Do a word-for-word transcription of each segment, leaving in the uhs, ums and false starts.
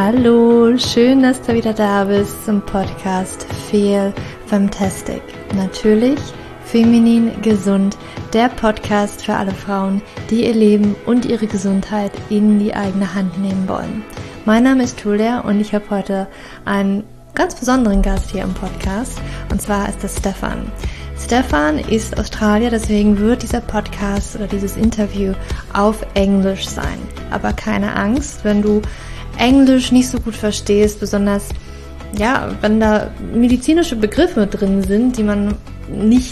Hallo, schön, dass du wieder da bist zum Podcast Feel Fantastic. Natürlich feminin gesund, der Podcast für alle Frauen, die ihr Leben und ihre Gesundheit in die eigene Hand nehmen wollen. Mein Name ist Julia und ich habe heute einen ganz besonderen Gast hier im Podcast, und zwar ist das Stefan. Stefan ist Australier, deswegen wird dieser Podcast oder dieses Interview auf Englisch sein. Aber keine Angst, wenn du Englisch nicht so gut verstehst, besonders ja, wenn da medizinische Begriffe drin sind, die man nicht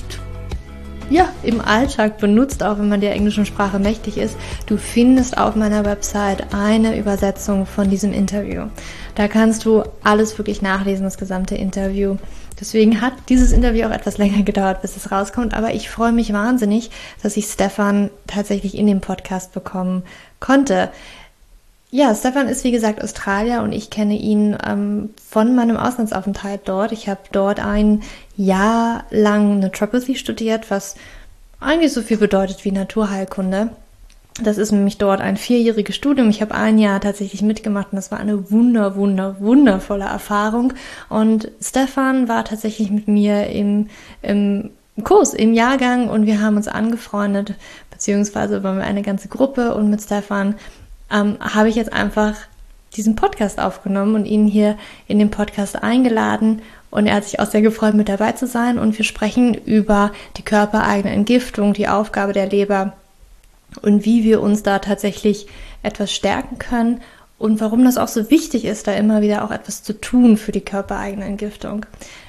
ja, im Alltag benutzt, auch wenn man der englischen Sprache mächtig ist. Du findest auf meiner Website eine Übersetzung von diesem Interview. Da kannst du alles wirklich nachlesen, das gesamte Interview. Deswegen hat dieses Interview auch etwas länger gedauert, bis es rauskommt, aber ich freue mich wahnsinnig, dass ich Stefan tatsächlich in den Podcast bekommen konnte. Ja, Stefan ist wie gesagt Australier und ich kenne ihn ähm, von meinem Auslandsaufenthalt dort. Ich habe dort ein Jahr lang Naturopathy studiert, was eigentlich so viel bedeutet wie Naturheilkunde. Das ist nämlich dort ein vierjähriges Studium. Ich habe ein Jahr tatsächlich mitgemacht und das war eine wunder, wunder, wundervolle Erfahrung. Und Stefan war tatsächlich mit mir im, im Kurs, im Jahrgang, und wir haben uns angefreundet, beziehungsweise waren wir eine ganze Gruppe, und mit Stefan ähm, habe ich jetzt einfach diesen Podcast aufgenommen und ihn hier in den Podcast eingeladen. Und er hat sich auch sehr gefreut, mit dabei zu sein. Und wir sprechen über die körpereigene Entgiftung, die Aufgabe der Leber und wie wir uns da tatsächlich etwas stärken können und warum das auch so wichtig ist, da immer wieder auch etwas zu tun für die körpereigene Entgiftung.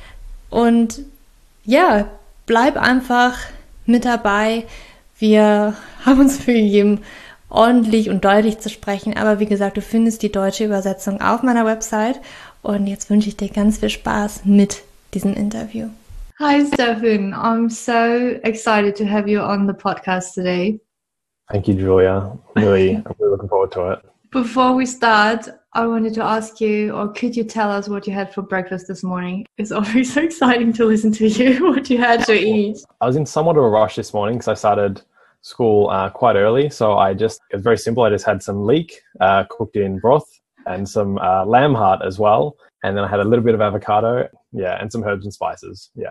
Und ja, bleib einfach mit dabei. Wir haben uns Mühe gegeben, ordentlich und deutlich zu sprechen, aber wie gesagt, du findest die deutsche Übersetzung auf meiner Website, und jetzt wünsche ich dir ganz viel Spaß mit diesem Interview. Hi Stefan, I'm so excited to have you on the podcast today. Thank you, Julia. Really, I'm really looking forward to it. Before we start, I wanted to ask you, or could you tell us what you had for breakfast this morning? It's always so exciting to listen to you, what you had to eat. I was in somewhat of a rush this morning because I started school uh, quite early. So I just, it was very simple. I just had some leek uh, cooked in broth and some uh, lamb heart as well. And then I had a little bit of avocado, yeah, and some herbs and spices. Yeah.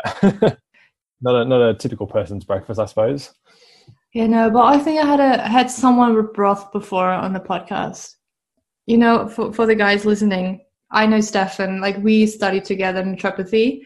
not a not a typical person's breakfast, I suppose. Yeah, no, but I think I had a had someone with broth before on the podcast. You know, for, for the guys listening, I know Stefan, like we studied together in naturopathy.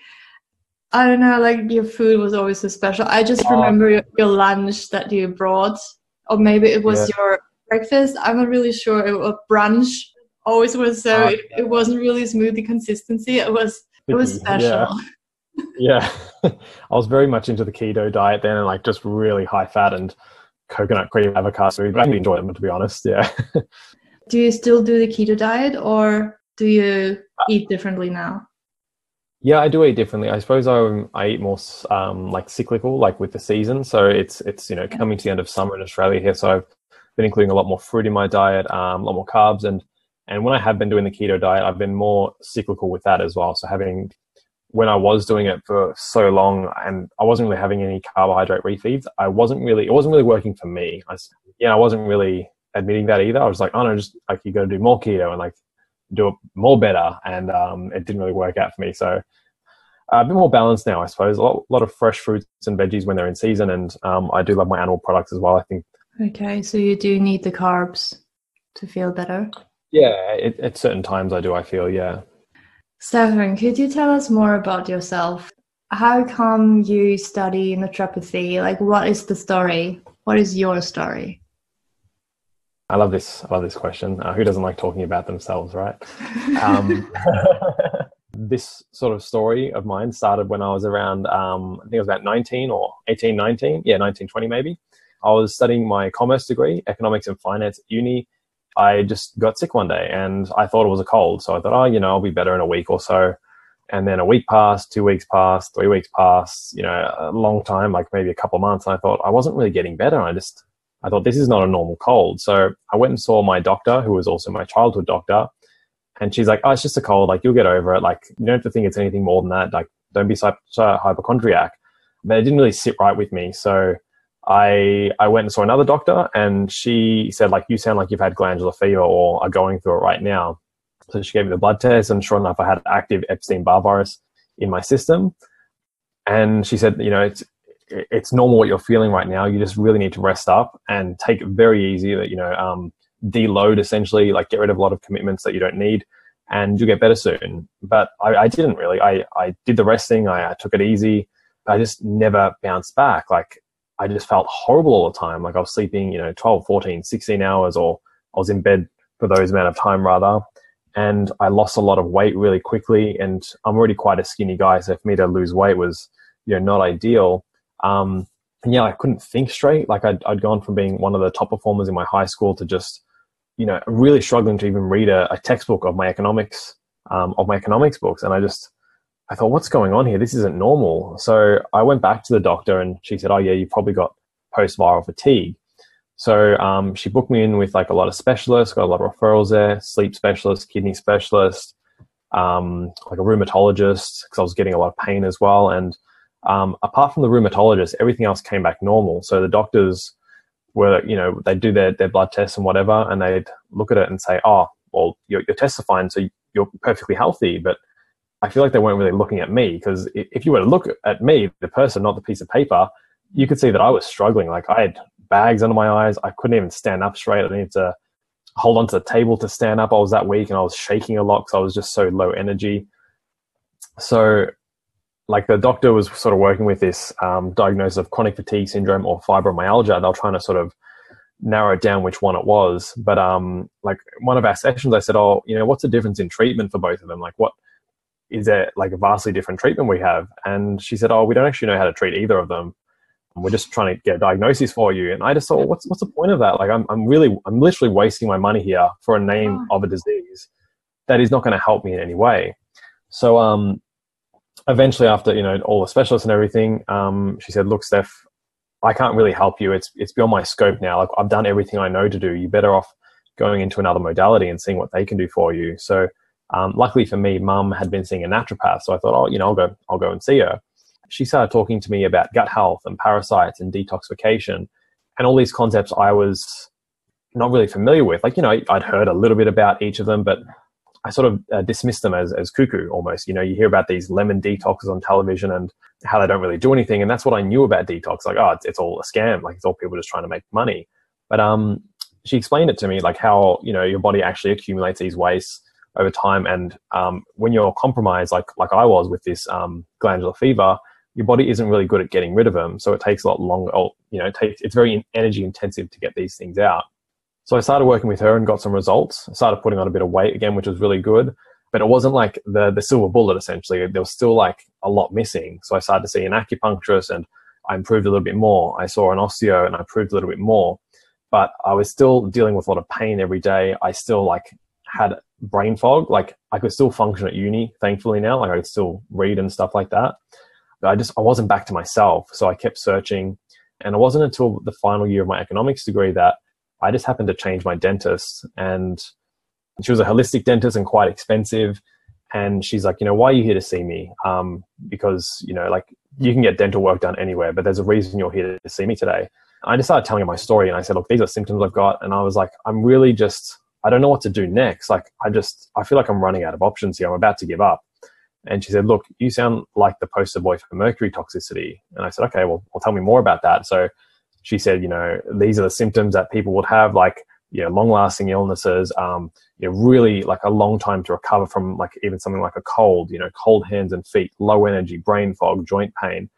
I don't know, like your food was always so special. I just oh. remember your, your lunch that you brought, or maybe it was yeah. your breakfast. I'm not really sure. It was brunch. Always was so. Oh, it, it wasn't really smoothie consistency. It was it was special. Yeah. yeah. I was very much into the keto diet then, and like just really high fat and coconut cream avocado. But I really enjoyed them, to be honest. Yeah. Do you still do the keto diet, or do you eat differently now? Yeah, I do eat differently. I suppose I I eat more um, like cyclical, like with the season. So it's it's you know coming to the end of summer in Australia here. So I've been including a lot more fruit in my diet, um, a lot more carbs, and and when I have been doing the keto diet, I've been more cyclical with that as well. So having when I was doing it for so long and I wasn't really having any carbohydrate refeeds, I wasn't really, it wasn't really working for me. I, yeah, I wasn't really admitting that either. I was like, oh no, just like you got to do more keto and like do it more better. And um, it didn't really work out for me. So uh, a bit more balanced now, I suppose. A lot, a lot of fresh fruits and veggies when they're in season. And um, I do love my animal products as well, I think. Okay. So you do need the carbs to feel better? Yeah, it, at certain times I do, I feel, yeah. Stefan, could you tell us more about yourself? How come you study naturopathy? Like, what is the story? What is your story? I love this. I love this question. Uh, who doesn't like talking about themselves, right? um, this sort of story of mine started when I was around, um, I think I was about nineteen or eighteen, nineteen. Yeah, nineteen, twenty maybe. I was studying my commerce degree, economics and finance at uni. I just got sick one day and I thought it was a cold. So I thought, oh, you know, I'll be better in a week or so. And then a week passed, two weeks passed, three weeks passed, you know, a long time, like maybe a couple of months. And I thought I wasn't really getting better. I just, I thought this is not a normal cold. So I went and saw my doctor, who was also my childhood doctor. And she's like, oh, it's just a cold. Like, you'll get over it. Like, you don't have to think it's anything more than that. Like, don't be such a hypochondriac. But it didn't really sit right with me. So I I went and saw another doctor, and she said, like, you sound like you've had glandular fever or are going through it right now. So she gave me the blood test, and sure enough, I had active Epstein-Barr virus in my system. And she said, you know, it's it's normal what you're feeling right now. You just really need to rest up and take it very easy. That you know, um, deload essentially, like get rid of a lot of commitments that you don't need, and you'll get better soon. But I, I didn't really. I I did the resting. I, I took it easy. But I just never bounced back. Like I just felt horrible all the time. Like I was sleeping, you know, twelve, fourteen, sixteen hours, or I was in bed for those amount of time rather. And I lost a lot of weight really quickly, and I'm already quite a skinny guy, so for me to lose weight was, you know, not ideal. Um, and yeah, I couldn't think straight. Like I'd, I'd gone from being one of the top performers in my high school to just, you know, really struggling to even read a, a textbook of my economics, um, of my economics books. And I just, I thought, what's going on here? This isn't normal. So I went back to the doctor, and she said, oh yeah, you probably got post-viral fatigue. So um, she booked me in with like a lot of specialists, got a lot of referrals there, sleep specialist, kidney specialist, um, like a rheumatologist, because I was getting a lot of pain as well. And um, apart from the rheumatologist, everything else came back normal. So the doctors were, you know, they'd do their, their blood tests and whatever, and they'd look at it and say, oh, well, your, your tests are fine, so you're perfectly healthy. But I feel like they weren't really looking at me, because if you were to look at me, the person, not the piece of paper, you could see that I was struggling. Like I had bags under my eyes. I couldn't even stand up straight. I needed to hold onto the table to stand up. I was that weak, and I was shaking a lot because I was just so low energy. So like the doctor was sort of working with this um, diagnosis of chronic fatigue syndrome or fibromyalgia. They were trying to sort of narrow down which one it was. But um, like one of our sessions, I said, oh, you know, what's the difference in treatment for both of them? Like what, is there like a vastly different treatment we have? And she said, oh, we don't actually know how to treat either of them. We're just trying to get a diagnosis for you. And I just thought, well, what's what's the point of that? Like I'm I'm really I'm literally wasting my money here for a name oh. of a disease that is not going to help me in any way. So um eventually, after, you know, all the specialists and everything, um, she said, look, Steph, I can't really help you. It's it's beyond my scope now. Like I've done everything I know to do. You're better off going into another modality and seeing what they can do for you. So um, luckily for me, Mum had been seeing a naturopath. So I thought, oh, you know, I'll go I'll go and see her. She started talking to me about gut health and parasites and detoxification and all these concepts I was not really familiar with. Like, you know, I'd heard a little bit about each of them, but I sort of uh, dismissed them as, as cuckoo almost. You know, you hear about these lemon detoxes on television and how they don't really do anything. And that's what I knew about detox. Like, oh, it's, it's all a scam. Like it's all people just trying to make money. But um, she explained it to me, like how, you know, your body actually accumulates these wastes over time. And um, when you're compromised, like, like I was with this um, glandular fever, your body isn't really good at getting rid of them. So it takes a lot longer, or, you know, it takes, it's very energy intensive to get these things out. So I started working with her and got some results. I started putting on a bit of weight again, which was really good, but it wasn't like the, the silver bullet essentially. There was still like a lot missing. So I started to see an acupuncturist and I improved a little bit more. I saw an osteo and I improved a little bit more, but I was still dealing with a lot of pain every day. I still like had brain fog. Like I could still function at uni, thankfully now, like I could still read and stuff like that. But I just, I wasn't back to myself. So I kept searching, and it wasn't until the final year of my economics degree that I just happened to change my dentist, and she was a holistic dentist and quite expensive. And she's like, you know, why are you here to see me? Um, because, you know, like you can get dental work done anywhere, but there's a reason you're here to see me today. I just started telling her my story, and I said, look, these are symptoms I've got. And I was like, I'm really just, I don't know what to do next. Like, I just, I feel like I'm running out of options here. I'm about to give up. And she said, look, you sound like the poster boy for mercury toxicity. And I said, okay, well, well, tell me more about that. So she said, you know, these are the symptoms that people would have, like, you know, long-lasting illnesses, um, you know, really like a long time to recover from, like even something like a cold, you know, cold hands and feet, low energy, brain fog, joint pain.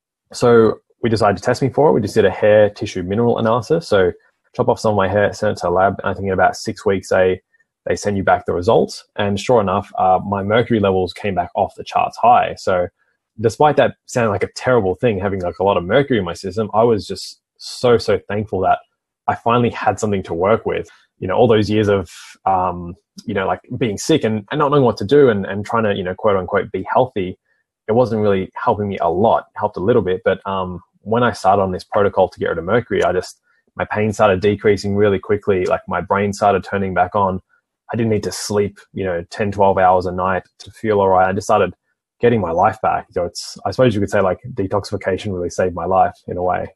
So we decided to test me for it. We just did a hair tissue mineral analysis. So chop off some of my hair, send it to a lab. And I think in about six weeks, they, they send you back the results. And sure enough, uh, my mercury levels came back off the charts high. So despite that sounding like a terrible thing, having like a lot of mercury in my system, I was just so, so thankful that I finally had something to work with. You know, all those years of, um, you know, like being sick and, and not knowing what to do and, and trying to, you know, quote unquote, be healthy, it wasn't really helping me a lot. It helped a little bit. But um, when I started on this protocol to get rid of mercury, I just, my pain started decreasing really quickly. Like my brain started turning back on. I didn't need to sleep, you know, ten, twelve hours a night to feel all right. I just started getting my life back. So it's, I suppose you could say like detoxification really saved my life in a way.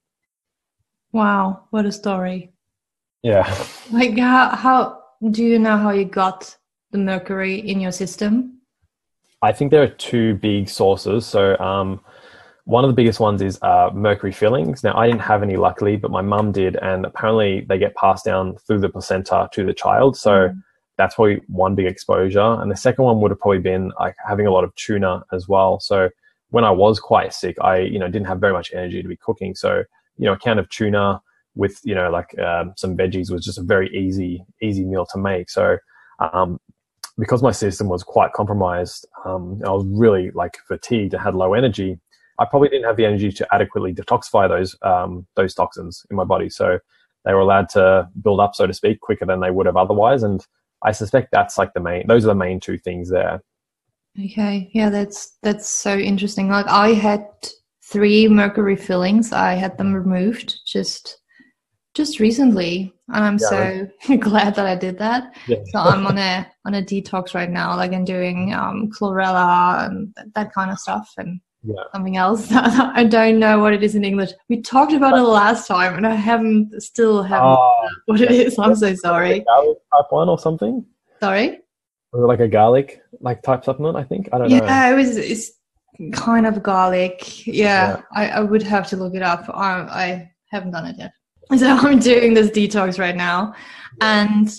Wow. What a story. Yeah. Like how, how do you know how you got the mercury in your system? I think there are two big sources. So um, one of the biggest ones is uh, mercury fillings. Now, I didn't have any, luckily, but my mum did, and apparently they get passed down through the placenta to the child. So mm. that's probably one big exposure. And the second one would have probably been like having a lot of tuna as well. So when I was quite sick, I, you know, didn't have very much energy to be cooking. So, you know, a can of tuna with, you know, like um, some veggies was just a very easy, easy meal to make. So um, because my system was quite compromised, um, I was really like fatigued and had low energy, I probably didn't have the energy to adequately detoxify those um, those toxins in my body. So they were allowed to build up, so to speak, quicker than they would have otherwise. And I suspect that's like the main, those are the main two things there. Okay. Yeah, that's, that's so interesting. Like I had three mercury fillings. I had them removed just, just recently. And I'm yeah, so right. glad that I did that. Yeah. So I'm on a, on a detox right now. Like I'm doing um, chlorella and that kind of stuff. And yeah. something else. I don't know what it is in English. We talked about it last time, and I haven't still haven't uh, what it is. I'm so sorry. Garlic type one or something. Sorry. Was it like a garlic like type supplement? I think I don't yeah, know. Yeah, it was. It's kind of garlic. Yeah, yeah. I, I would have to look it up. I, I haven't done it yet. So I'm doing this detox right now, yeah. and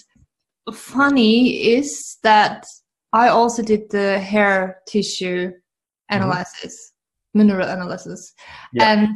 funny is that I also did the hair tissue analysis, mm-hmm. mineral analysis, yeah. and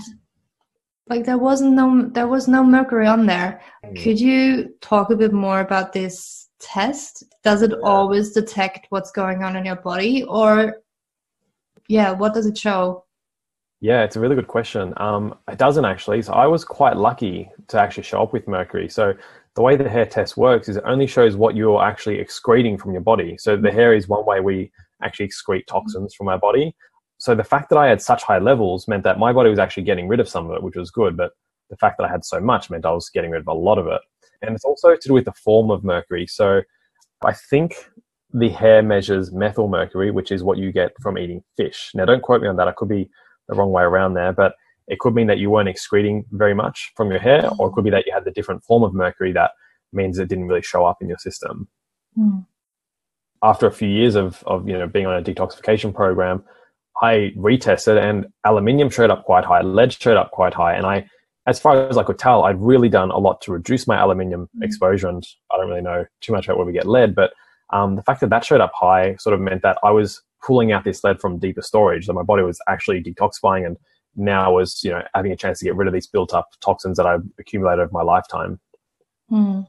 like there wasn't no there was no mercury on there. Mm. Could you talk a bit more about this test? Does it yeah. always detect what's going on in your body, or yeah, what does it show? Yeah, it's a really good question. Um, it doesn't actually. So I was quite lucky to actually show up with mercury. So the way the hair test works is it only shows what you're actually excreting from your body. So the hair is one way we actually excrete toxins from our body. So the fact that I had such high levels meant that my body was actually getting rid of some of it, which was good. But the fact that I had so much meant I was getting rid of a lot of it. And it's also to do with the form of mercury. So I think the hair measures methyl mercury, which is what you get from eating fish. Now, don't quote me on that. I could be the wrong way around there, but it could mean that you weren't excreting very much from your hair, or it could be that you had the different form of mercury that means it didn't really show up in your system. Mm. After a few years of, of, you know, being on a detoxification program, I retested and aluminium showed up quite high, lead showed up quite high. And I, as far as I could tell, I'd really done a lot to reduce my aluminium mm. exposure. And I don't really know too much about where we get lead, but um, the fact that that showed up high sort of meant that I was pulling out this lead from deeper storage. So my body was actually detoxifying, and now was, you know, having a chance to get rid of these built up toxins that I've accumulated over my lifetime. Mm.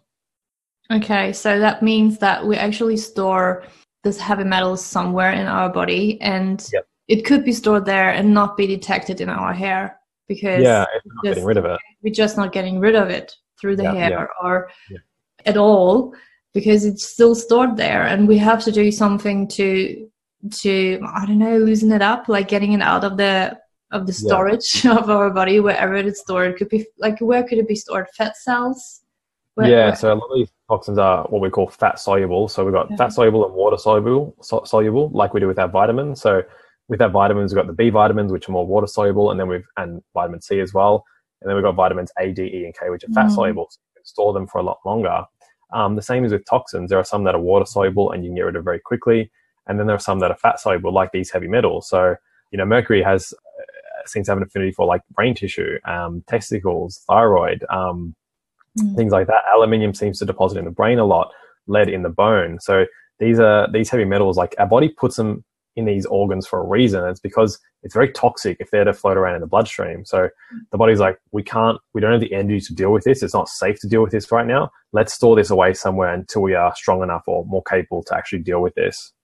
Okay, so that means that we actually store this heavy metals somewhere in our body, and yep. it could be stored there and not be detected in our hair because yeah, it's not just, getting rid of it. We're just not getting rid of it through the yeah, hair yeah. or yeah. at all, because it's still stored there, and we have to do something to to I don't know, loosen it up, like getting it out of the of the storage yeah. of our body, wherever it's stored. It could be like, where could it be stored? Fat cells. Where, yeah, where? so a lot of these toxins are what we call fat soluble. So we've got yeah. fat soluble and water soluble, so, soluble, like we do with our vitamins. So with our vitamins, we've got the B vitamins, which are more water soluble, and then we've and vitamin C as well. And then we've got vitamins A, D, E, and K, which are fat mm. soluble. So you can store them for a lot longer. Um, the same is with toxins. There are some that are water soluble and you can get rid of very quickly. And then there are some that are fat soluble, like these heavy metals. So, you know, mercury has uh, seems to have an affinity for like brain tissue, um, testicles, thyroid, um, mm. things like that. Aluminium seems to deposit in the brain a lot, lead in the bone. So these are these heavy metals, like our body puts them in these organs for a reason. It's because it's very toxic if they're to float around in the bloodstream. So the body's like, we can't, we don't have the energy to deal with this. It's not safe to deal with this right now. Let's store this away somewhere until we are strong enough or more capable to actually deal with this.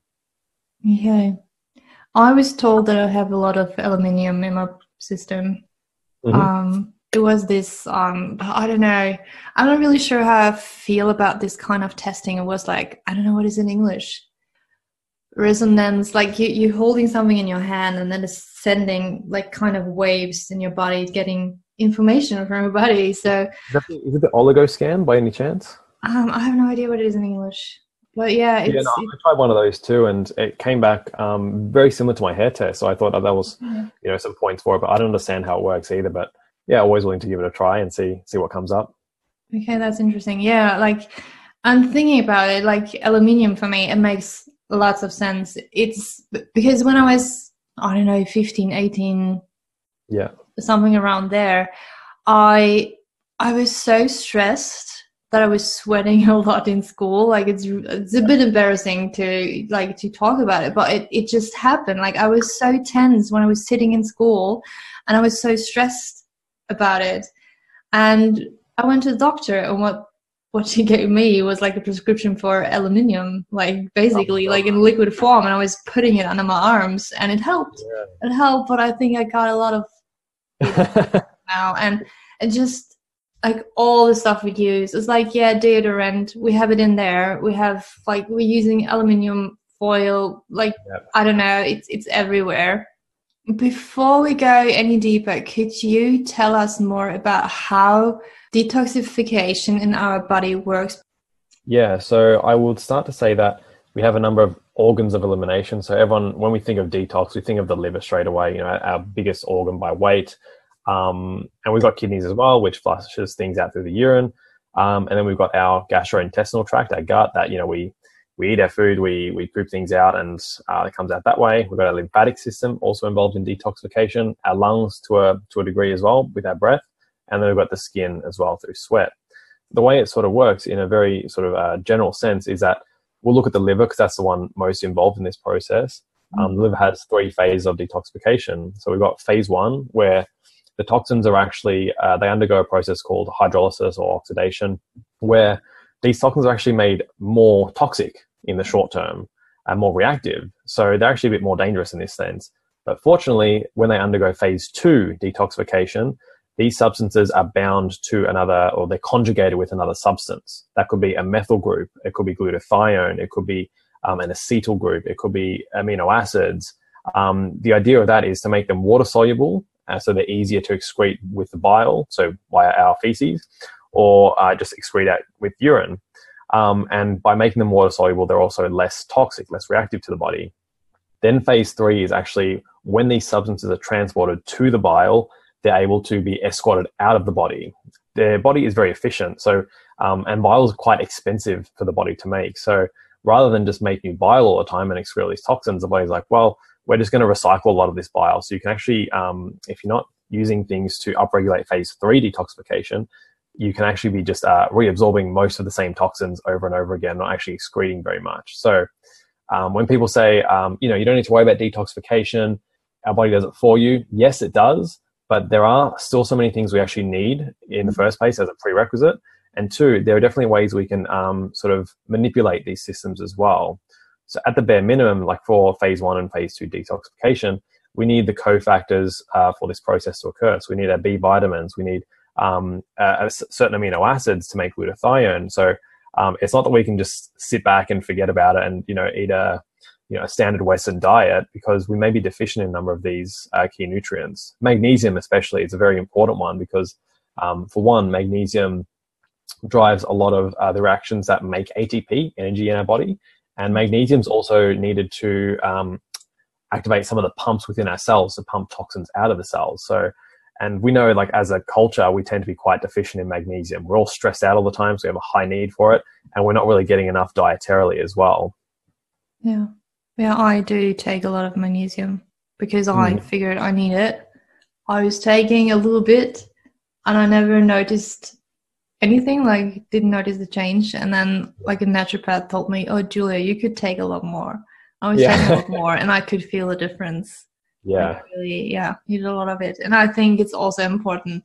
Okay. I was told that I have a lot of aluminium in my system. Mm-hmm. Um, it was this, um, I don't know, I'm not really sure how I feel about this kind of testing. It was like, I don't know what is in English. Resonance, like you, you're holding something in your hand and then it's sending like kind of waves in your body, getting information from your body. So is, that the, is it the oligo scan by any chance? Um, I have no idea what it is in English. But yeah, it's, yeah, no, I tried one of those too, and it came back um, very similar to my hair test. So I thought that, that was, yeah. you know, some points for it, but I don't understand how it works either. But yeah, always willing to give it a try and see see what comes up. Okay, that's interesting. Yeah, like I'm thinking about it, like aluminium for me, it makes lots of sense. It's because when I was, I don't know, fifteen, eighteen, Yeah. something around there, I I was so stressed that I was sweating a lot in school. Like it's it's a bit embarrassing to like to talk about it, but it, it just happened. Like I was so tense when I was sitting in school, and I was so stressed about it. And I went to the doctor, and what what she gave me was like a prescription for aluminium, like basically like in liquid form, and I was putting it under my arms, and it helped. Yeah. It helped, but I think I got a lot of it now, and it just like all the stuff we use. It's like, yeah, deodorant, we have it in there. We have like we're using aluminium foil, like Yep. I don't know, it's it's everywhere. Before we go any deeper, could you tell us more about how detoxification in our body works? Yeah, so I would start to say that we have a number of organs of elimination. So everyone, when we think of detox, we think of the liver straight away, you know, our biggest organ by weight. Um, and we've got kidneys as well, which flushes things out through the urine. Um, and then we've got our gastrointestinal tract, our gut, that, you know, we we eat our food, we we poop things out, and uh, it comes out that way. We've got our lymphatic system, also involved in detoxification, our lungs to a to a degree as well with our breath, and then we've got the skin as well through sweat. The way it sort of works in a very sort of uh, general sense is that we'll look at the liver because that's the one most involved in this process. Um, the liver has three phases of detoxification. So we've got phase one, where the toxins are actually, uh, they undergo a process called hydrolysis or oxidation, where these toxins are actually made more toxic in the short term and more reactive. So they're actually a bit more dangerous in this sense. But fortunately, when they undergo phase two detoxification, these substances are bound to another, or they're conjugated with another substance. That could be a methyl group, it could be glutathione, it could be um, an acetyl group, it could be amino acids. Um, the idea of that is to make them water soluble, uh, so they're easier to excrete with the bile, so via our feces, or uh, just excrete out with urine. Um, and by making them water soluble, they're also less toxic, less reactive to the body. Then phase three is actually when these substances are transported to the bile, they're able to be escorted out of the body. Their body is very efficient. So, um, and bile is quite expensive for the body to make. So rather than just make new bile all the time and excrete all these toxins, the body's like, well, we're just going to recycle a lot of this bile. So you can actually, um, if you're not using things to upregulate phase three detoxification, you can actually be just uh, reabsorbing most of the same toxins over and over again, not actually excreting very much. So um, when people say, um, you know, you don't need to worry about detoxification, our body does it for you. Yes, it does. But there are still so many things we actually need in the first place as a prerequisite. And two, there are definitely ways we can um, sort of manipulate these systems as well. So at the bare minimum, like for phase one and phase two detoxification, we need the cofactors uh, for this process to occur. So we need our B vitamins, we need um, uh, certain amino acids to make glutathione. So um, it's not that we can just sit back and forget about it and, you know, eat a, you know, a standard Western diet, because we may be deficient in a number of these uh, key nutrients. Magnesium especially is a very important one because, um, for one, magnesium drives a lot of uh, the reactions that make A T P, energy in our body. And magnesium is also needed to um, activate some of the pumps within our cells to pump toxins out of the cells. So, and we know, like, as a culture, we tend to be quite deficient in magnesium. We're all stressed out all the time, so we have a high need for it, and we're not really getting enough dietarily as well. Yeah. Yeah, I do take a lot of magnesium because I Mm. figured I need it. I was taking a little bit and I never noticed anything, like didn't notice the change. And then like a naturopath told me, oh, Julia, you could take a lot more. I was Yeah. taking a lot more and I could feel a difference. Yeah. Like really, yeah, need a lot of it. And I think it's also important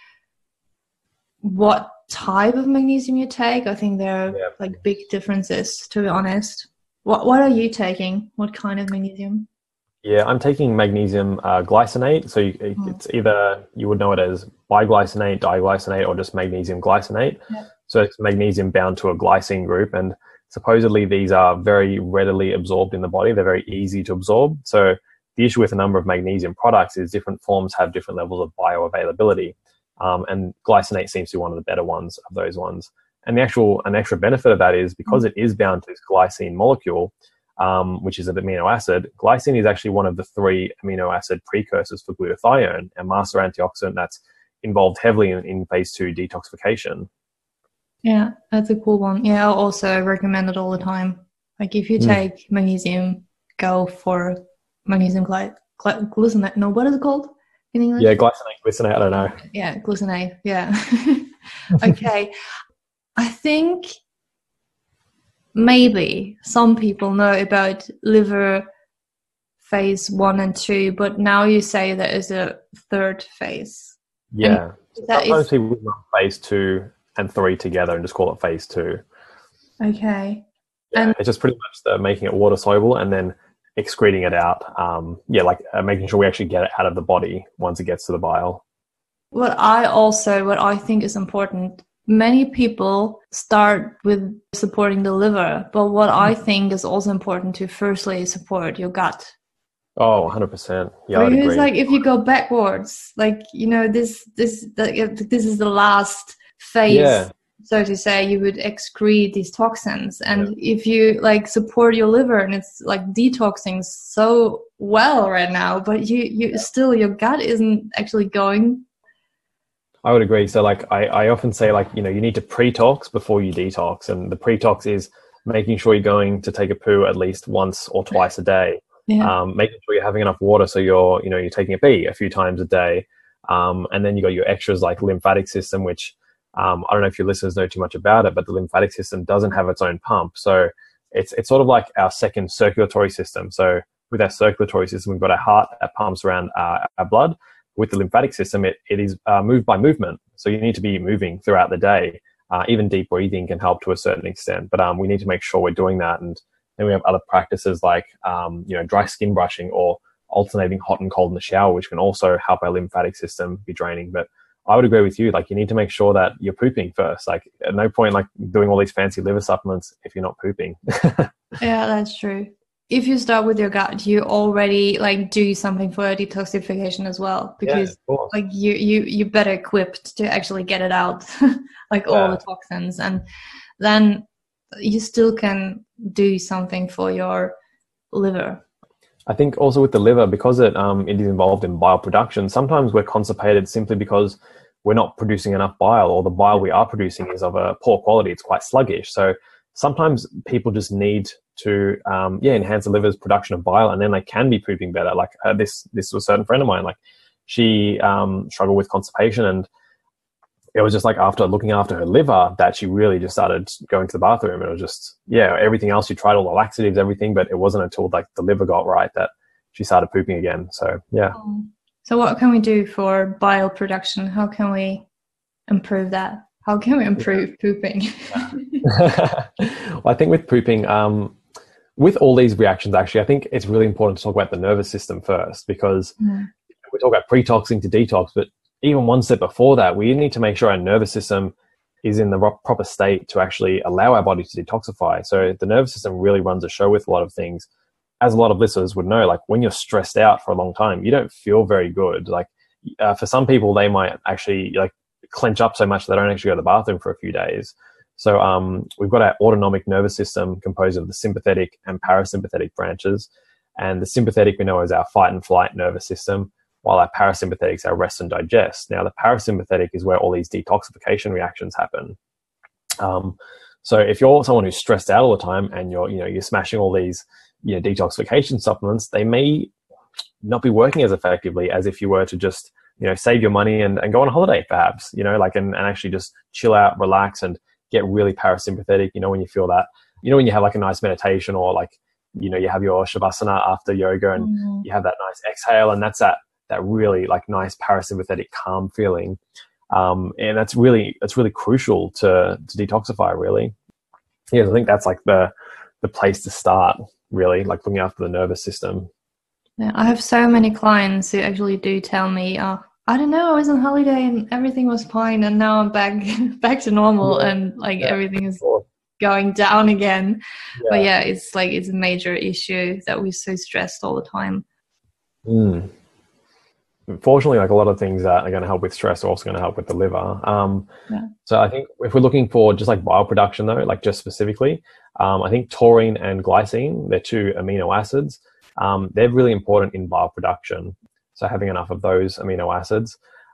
what type of magnesium you take. I think there are Yeah. like big differences, to be honest. What What are you taking? What kind of magnesium? Yeah, I'm taking magnesium uh, glycinate. So you, Mm. it's either, you would know it as biglycinate, diglycinate, or just magnesium glycinate. Yeah. So it's magnesium bound to a glycine group. And supposedly these are very readily absorbed in the body. They're very easy to absorb. So the issue with a number of magnesium products is different forms have different levels of bioavailability. Um, and glycinate seems to be one of the better ones of those ones. And the actual, an extra benefit of that is because it is bound to this glycine molecule, um, which is an amino acid, glycine is actually one of the three amino acid precursors for glutathione, a master antioxidant that's involved heavily in, in phase two detoxification. Yeah, that's a cool one. Yeah, I'll also recommend it all the time. Like if you take mm. magnesium, go for magnesium gly- gly- glycinate. No, what is it called in English? Yeah, glycinate, glycinate, I don't know. Yeah, glycinate, yeah. Okay. I think maybe some people know about liver phase one and two, but now you say there is a third phase. Yeah. That Sometimes is... people run phase two and three together and just call it phase two. Okay. Yeah, and it's just pretty much the making it water soluble and then excreting it out. Um, yeah, like uh, making sure we actually get it out of the body once it gets to the bile. What I also, what I think is important, many people start with supporting the liver, but what I think is also important to firstly support your gut. Oh, one hundred percent. Yeah, I'd because agree. Like if you go backwards, like, you know, this, this, this is the last phase. Yeah. So to say, you would excrete these toxins. And yeah. if you like support your liver and it's like detoxing so well right now, but you, you yeah. still, your gut isn't actually going. I would agree. So like I, I often say, like, you know, you need to pre-tox before you detox. And the pre-tox is making sure you're going to take a poo at least once or twice a day. Yeah. Um, making sure you're having enough water. So you're, you know, you're taking a pee a few times a day. Um, and then you got your extras like lymphatic system, which um, I don't know if your listeners know too much about it, but the lymphatic system doesn't have its own pump. So it's, it's sort of like our second circulatory system. So with our circulatory system, we've got our heart that pumps around uh, our blood. With the lymphatic system, it, it is uh, moved by movement. So you need to be moving throughout the day. Uh, even deep breathing can help to a certain extent, but um, we need to make sure we're doing that. And then we have other practices like, um, you know, dry skin brushing or alternating hot and cold in the shower, which can also help our lymphatic system be draining. But I would agree with you. Like, you need to make sure that you're pooping first. Like, at no point, like, doing all these fancy liver supplements if you're not pooping. Yeah, that's true. If you start with your gut, you already like do something for detoxification as well, because yeah, like you you you're better equipped to actually get it out, like yeah. all the toxins, and then you still can do something for your liver. I think also with the liver, because it um it is involved in bile production, sometimes we're constipated simply because we're not producing enough bile, or the bile we are producing is of a poor quality. It's quite sluggish. So sometimes people just need to um, yeah enhance the liver's production of bile, and then they can be pooping better. Like uh, this this was a certain friend of mine. Like she um, struggled with constipation, and it was just like after looking after her liver that she really just started going to the bathroom. And it was just yeah everything else she tried, all the laxatives, everything, but it wasn't until like the liver got right that she started pooping again. So yeah. So what can we do for bile production? How can we improve that? How can we improve yeah. pooping? Well, I think with pooping, um, with all these reactions, actually, I think it's really important to talk about the nervous system first, because mm. we talk about pre-toxing to detox, but even one step before that, we need to make sure our nervous system is in the proper state to actually allow our body to detoxify. So the nervous system really runs a show with a lot of things. As a lot of listeners would know, like when you're stressed out for a long time, you don't feel very good. Like uh, for some people, they might actually like clench up so much they don't actually go to the bathroom for a few days. So um, we've got our autonomic nervous system composed of the sympathetic and parasympathetic branches. And the sympathetic we know is our fight and flight nervous system, while our parasympathetic is our rest and digest. Now, the parasympathetic is where all these detoxification reactions happen. Um, so if you're someone who's stressed out all the time and you're, you know, you're smashing all these, you know, detoxification supplements, they may not be working as effectively as if you were to just, you know, save your money and, and go on a holiday, perhaps, you know, like, and, and actually just chill out, relax, and get really parasympathetic. You know, when you feel that, you know, when you have like a nice meditation, or like, you know, you have your shavasana after yoga and mm-hmm. you have that nice exhale, and that's that, that really like nice parasympathetic calm feeling. Um, and that's really, that's really crucial to, to detoxify, really. Yeah. I think that's like the, the place to start, really, like looking after the nervous system. Yeah, I have so many clients who actually do tell me, oh, I don't know, I was on holiday and everything was fine, and now I'm back back to normal, yeah. and like yeah. everything is going down again. Yeah. But yeah, it's like it's a major issue that we're so stressed all the time. Mm. Fortunately, like a lot of things that are going to help with stress are also going to help with the liver. Um, yeah. So I think if we're looking for just like bile production though, like just specifically, um, I think taurine and glycine, they're two amino acids. Um, they're really important in bile production. So having enough of those amino acids.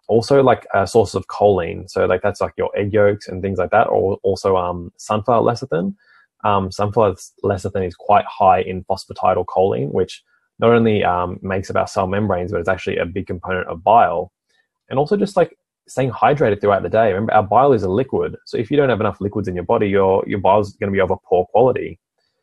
Also like a source of choline. So like that's like your egg yolks and things like that, or also um, sunflower lecithin. Um, sunflower lecithin is quite high in phosphatidylcholine, which not only um, makes up our cell membranes, but it's actually a big component of bile. And also just like staying hydrated throughout the day. Remember, our bile is a liquid. So if you don't have enough liquids in your body, your, your bile is going to be of a poor quality.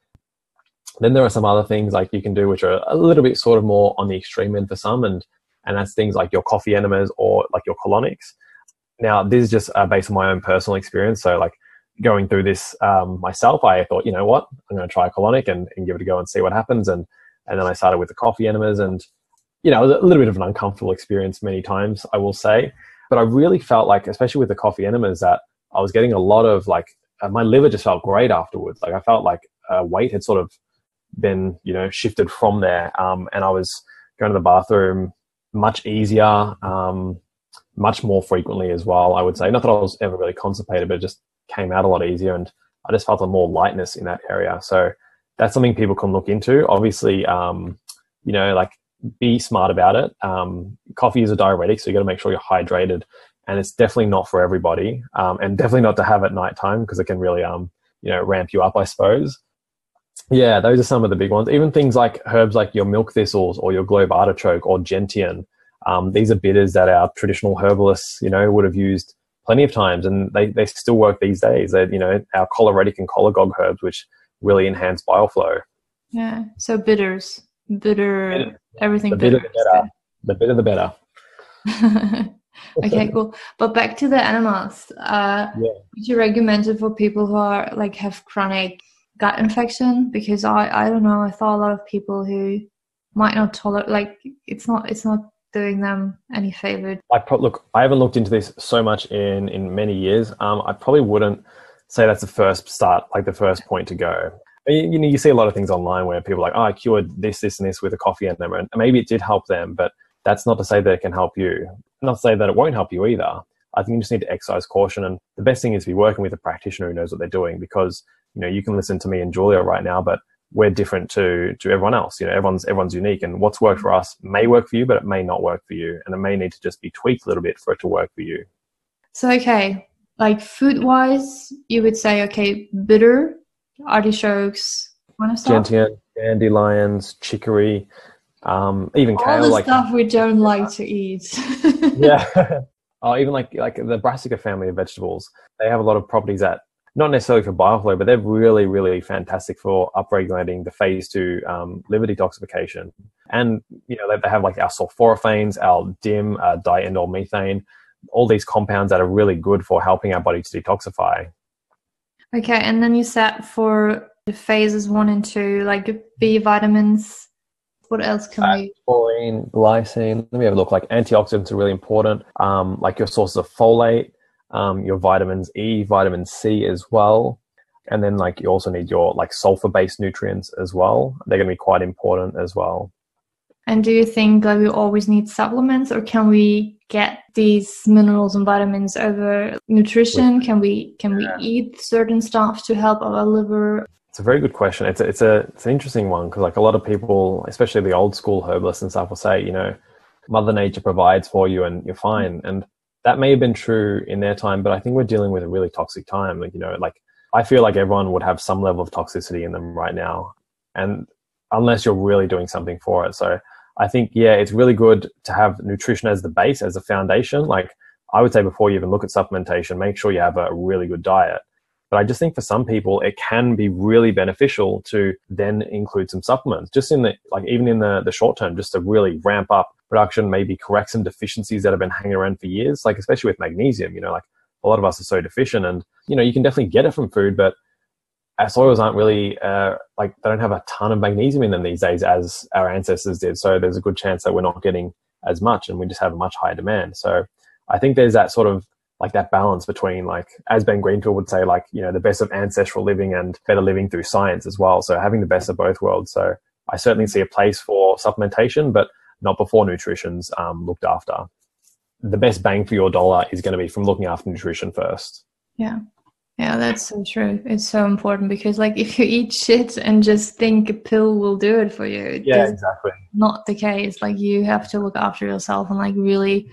Then there are some other things like you can do, which are a little bit sort of more on the extreme end for some. And, and that's things like your coffee enemas or like your colonics. Now, this is just uh, based on my own personal experience. So like going through this um, myself, I thought, you know what, I'm going to try a colonic and, and give it a go and see what happens. And, and then I started with the coffee enemas, and, you know, it was a little bit of an uncomfortable experience many times, I will say. But I really felt like, especially with the coffee enemas, that I was getting a lot of like, uh, my liver just felt great afterwards. Like I felt like uh, weight had sort of been, you know, shifted from there. Um, and I was going to the bathroom much easier, um, much more frequently as well, I would say. Not that I was ever really constipated, but it just came out a lot easier. And I just felt a more lightness in that area. So that's something people can look into. Obviously, um, you know, like be smart about it. Um, coffee is a diuretic, so you got to make sure you're hydrated. And it's definitely not for everybody, um, and definitely not to have at nighttime because it can really, um, you know, ramp you up, I suppose. Yeah, those are some of the big ones. Even things like herbs like your milk thistles or your globe artichoke or gentian. Um, these are bitters that our traditional herbalists, you know, would have used plenty of times, and they, they still work these days. They, you know, our choleritic and cholegog herbs, which really enhance bile flow. Yeah, so bitters, bitter, bitter. everything the bitter. bitter the better. The bitter the better. Okay, cool. But back to the enemas. Uh, yeah. Would you recommend it for people who are like have chronic gut infection? Because I, I don't know. I thought a lot of people who might not tolerate, like it's not, it's not doing them any favor. I pro- look, I haven't looked into this so much in in many years. Um, I probably wouldn't say that's the first start, like the first point to go. You, you know, you see a lot of things online where people are like, oh, I cured this, this, and this with a coffee enema, and maybe it did help them, but that's not to say that it can help you. Not to say that it won't help you either. I think you just need to exercise caution, and the best thing is to be working with a practitioner who knows what they're doing, because you know you can listen to me and Julia right now, but we're different to to everyone else. You know, everyone's everyone's unique, and what's worked for us may work for you, but it may not work for you, and it may need to just be tweaked a little bit for it to work for you. So, okay, like food-wise, you would say, okay, bitter, artichokes, gentian, dandelions, chicory, um, even all kale. All the like, stuff we don't like to eat. Yeah. Oh, even like like the brassica family of vegetables, they have a lot of properties that, not necessarily for bile flow, but they're really, really fantastic for upregulating the phase two um, liver detoxification. And, you know, they have like our sulforaphanes, our D I M, uh, diindolylmethane, all these compounds that are really good for helping our body to detoxify. Okay, and then you said for the phases one and two, like B vitamins, what else can uh, we? Taurine, glycine. Let me have a look. Like antioxidants are really important. Um, like your sources of folate, um, your vitamins E, vitamin C as well. And then like you also need your like sulfur-based nutrients as well. They're going to be quite important as well. And do you think like we always need supplements, or can we get these minerals and vitamins over nutrition? Can we can we eat certain stuff to help our liver? It's a very good question. It's a, it's a it's an interesting one, because like a lot of people, especially the old school herbalists and stuff, will say, you know, Mother Nature provides for you and you're fine. And that may have been true in their time, but I think we're dealing with a really toxic time. Like, you know, like I feel like everyone would have some level of toxicity in them right now, and unless you're really doing something for it. So I think, yeah, it's really good to have nutrition as the base, as the foundation. Like I would say, before you even look at supplementation, make sure you have a really good diet. But I just think for some people, it can be really beneficial to then include some supplements, just in the, like even in the, the short term, just to really ramp up production, maybe correct some deficiencies that have been hanging around for years, like especially with magnesium. You know, like a lot of us are so deficient, and, you know, you can definitely get it from food, but our soils aren't really, uh, like they don't have a ton of magnesium in them these days as our ancestors did. So there's a good chance that we're not getting as much, and we just have a much higher demand. So I think there's that sort of, like that balance between, like, as Ben Greenfield would say, like, you know, the best of ancestral living and better living through science as well. So having the best of both worlds. So I certainly see a place for supplementation, but not before nutrition's um, looked after. The best bang for your dollar is going to be from looking after nutrition first. Yeah. Yeah, that's so true. It's so important, because like if you eat shit and just think a pill will do it for you, yeah, exactly. Not the case. Like you have to look after yourself and like really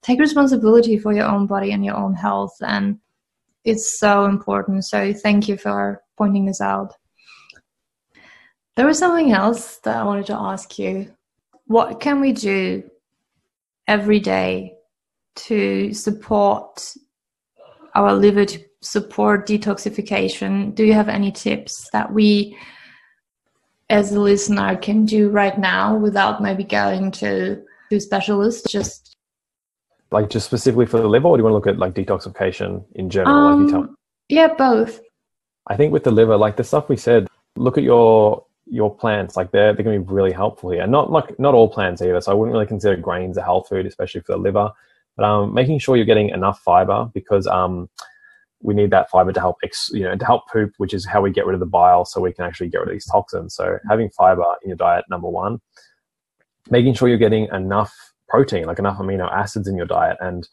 take responsibility for your own body and your own health. And it's so important. So thank you for pointing this out. There was something else that I wanted to ask you. What can we do every day to support our liver, to support detoxification? Do you have any tips that we as a listener can do right now without maybe going to, to a specialist? Just like just specifically for the liver, or do you want to look at like detoxification in general? Um, like you tell- yeah, both. I think with the liver, like the stuff we said, look at your your plants. Like they're they're going to be really helpful here. Not like not all plants either. So I wouldn't really consider grains a health food, especially for the liver. But um, making sure you're getting enough fiber, because um, we need that fiber to help ex- you know to help poop, which is how we get rid of the bile, so we can actually get rid of these toxins. So having fiber in your diet, number one. Making sure you're getting enough protein, like enough amino acids in your diet. And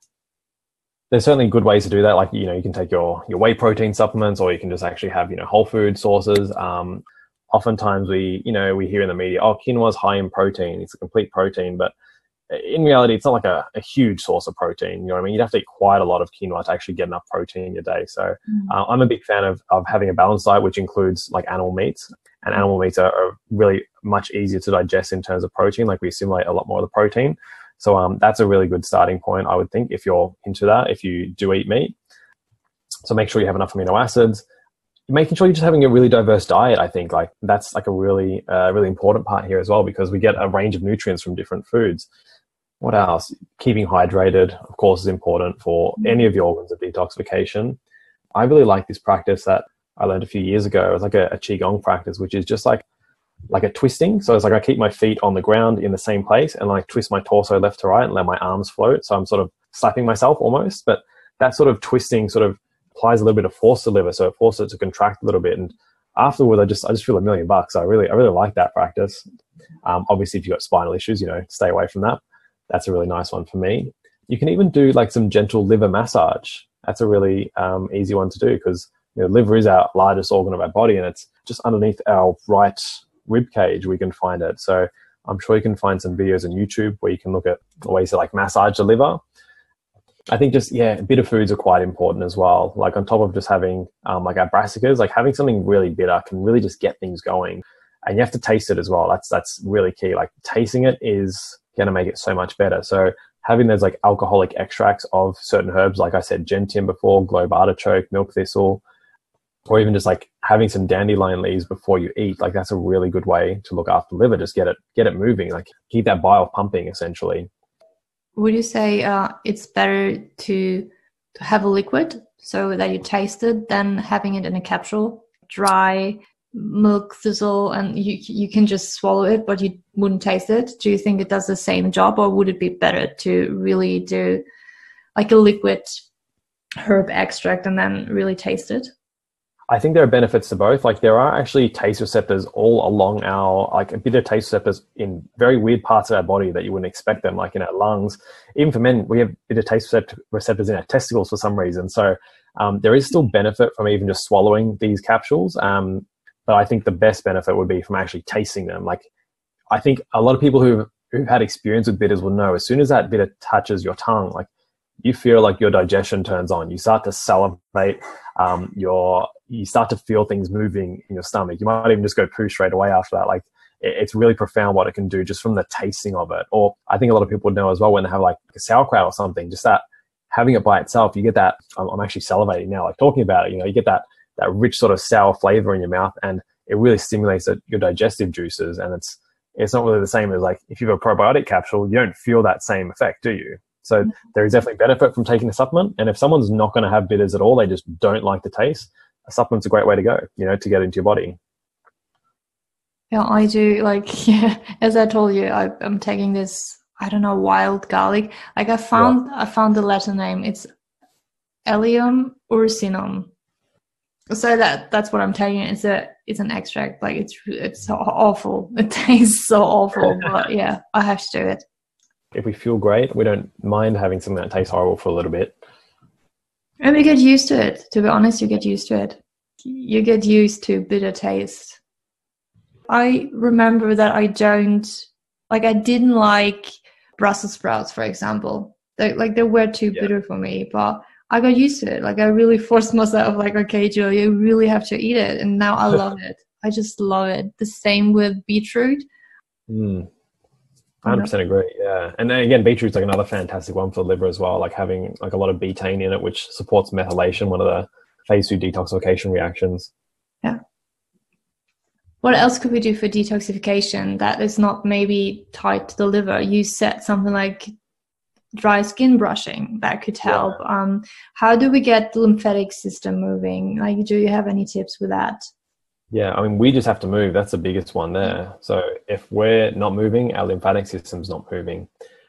there's certainly good ways to do that. Like, you know, you can take your, your whey protein supplements, or you can just actually have, you know, whole food sources. Um, oftentimes we, you know, we hear in the media, oh, quinoa is high in protein. It's a complete protein. But in reality, it's not like a, a huge source of protein. You know what I mean? You'd have to eat quite a lot of quinoa to actually get enough protein in your day. So mm. uh, I'm a big fan of, of having a balanced diet, which includes like animal meats. And animal meats are, are really much easier to digest in terms of protein. Like we assimilate a lot more of the protein. So um, that's a really good starting point, I would think, if you're into that, if you do eat meat. So make sure you have enough amino acids. Making sure you're just having a really diverse diet, I think, like that's like a really, uh, really important part here as well, because we get a range of nutrients from different foods. What else? Keeping hydrated, of course, is important for any of your organs of detoxification. I really like this practice that I learned a few years ago. It was like a, a Qigong practice, which is just like like a twisting. So it's like I keep my feet on the ground in the same place and like twist my torso left to right and let my arms float. So I'm sort of slapping myself almost. But that sort of twisting sort of applies a little bit of force to the liver. So it forces it to contract a little bit. And afterwards, I just I just feel a million bucks. I really I really like that practice. Um, obviously, if you've got spinal issues, you know, stay away from that. That's a really nice one for me. You can even do like some gentle liver massage. That's a really um, easy one to do, because you know, liver is our largest organ of our body, and it's just underneath our right rib cage. We can find it. So I'm sure you can find some videos on YouTube where you can look at ways to like massage the liver. I think just, yeah, bitter foods are quite important as well. Like on top of just having um, like our brassicas, like having something really bitter can really just get things going. And you have to taste it as well. That's that's really key. Like tasting it is going to make it so much better. So having those like alcoholic extracts of certain herbs, like I said, gentian before, globe artichoke, milk thistle, or even just like having some dandelion leaves before you eat, like that's a really good way to look after the liver. Just get it, get it moving, like keep that bile pumping essentially. Would you say uh, it's better to to have a liquid so that you taste it than having it in a capsule, dry milk thistle, and you you can just swallow it, but you wouldn't taste it? Do you think it does the same job, or would it be better to really do like a liquid herb extract and then really taste it? I think there are benefits to both. Like there are actually taste receptors all along our, like a bit of taste receptors in very weird parts of our body that you wouldn't expect them, like in our lungs. Even for men, we have a bit of taste receptors in our testicles for some reason. So um, there is still benefit from even just swallowing these capsules. Um, but I think the best benefit would be from actually tasting them. Like I think a lot of people who've, who've had experience with bitters will know as soon as that bitter touches your tongue, like you feel like your digestion turns on. You start to salivate. Um, your you start to feel things moving in your stomach. You might even just go poo straight away after that. Like it, it's really profound what it can do just from the tasting of it. Or I think a lot of people would know as well when they have like a sauerkraut or something, just that having it by itself, you get that, I'm, I'm actually salivating now, like talking about it, you know, you get that, that rich sort of sour flavor in your mouth, and it really stimulates the, your digestive juices. And it's, it's not really the same as like, if you have a probiotic capsule, you don't feel that same effect, do you? So there is definitely benefit from taking a supplement. And if someone's not going to have bitters at all, they just don't like the taste, a supplement's a great way to go, you know, to get into your body. Yeah, I do. Like, yeah, as I told you, I, I'm taking this, I don't know, wild garlic. Like I found, yeah. I found the Latin name. It's Allium ursinum. So that that's what I'm taking. It's a, it's an extract. Like it's, it's so awful. It tastes so awful, but yeah, I have to do it. If we feel great, we don't mind having something that tastes horrible for a little bit. And we get used to it. To be honest, you get used to it. You get used to bitter taste. I remember that I don't, like I didn't like Brussels sprouts, for example. They, like they were too Yeah. bitter for me, but I got used to it. Like I really forced myself, like, okay, Julia, you really have to eat it. And now I love it. I just love it. The same with beetroot. Mm. one hundred percent agree. Yeah. And then again, beetroot's like another fantastic one for the liver as well, like having like a lot of betaine in it, which supports methylation, one of the phase two detoxification reactions. Yeah. What else could we do for detoxification that is not maybe tied to the liver? You said something like dry skin brushing that could help. Yeah. Um, how do we get the lymphatic system moving? Like, do you have any tips with that? Yeah, I mean, we just have to move. That's the biggest one there. So if we're not moving, our lymphatic system's not moving.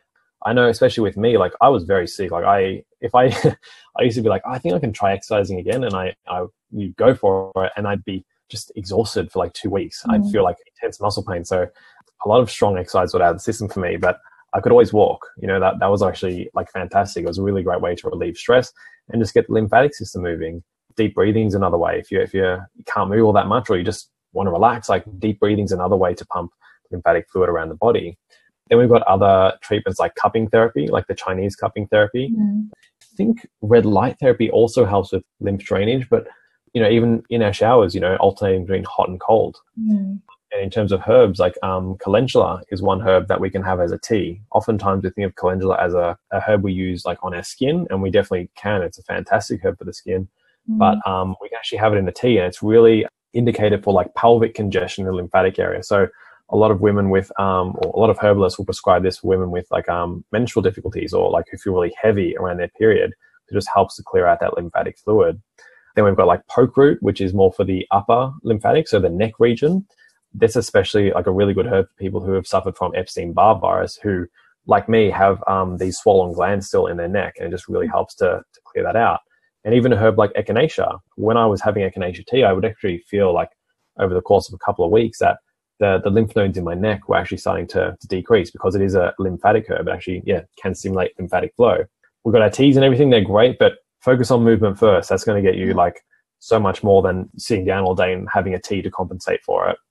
I know, especially with me, like I was very sick. Like I, if I, I used to be like, oh, I think I can try exercising again. And I, I, you go for it and I'd be just exhausted for like two weeks. Mm. I'd feel like intense muscle pain. So a lot of strong exercise would out of the system for me, but I could always walk. You know, that, that was actually like fantastic. It was a really great way to relieve stress and just get the lymphatic system moving. Deep breathing is another way. If you if you you can't move all that much, or you just want to relax, like deep breathing is another way to pump lymphatic fluid around the body. Then we've got other treatments like cupping therapy, like the Chinese cupping therapy. Mm. I think red light therapy also helps with lymph drainage, but you know, even in our showers, you know, alternating between hot and cold. Mm. And in terms of herbs, like um, calendula is one herb that we can have as a tea. Oftentimes we think of calendula as a, a herb we use like on our skin, and we definitely can. It's a fantastic herb for the skin. Mm. But um, we can actually have it in the tea, and it's really indicated for like pelvic congestion in the lymphatic area. So a lot of women with, um, or a lot of herbalists will prescribe this for women with like um, menstrual difficulties, or like who feel really heavy around their period. It just helps to clear out that lymphatic fluid. Then we've got like poke root, which is more for the upper lymphatic, so the neck region. That's especially like a really good herb for people who have suffered from Epstein-Barr virus, who, like me, have um, these swollen glands still in their neck, and it just really helps to, to clear that out. And even a herb like echinacea, when I was having echinacea tea, I would actually feel like over the course of a couple of weeks that the, the lymph nodes in my neck were actually starting to, to decrease, because it is a lymphatic herb. It actually, yeah, can stimulate lymphatic flow. We've got our teas and everything. They're great, but focus on movement first. That's going to get you like so much more than sitting down all day and having a tea to compensate for it.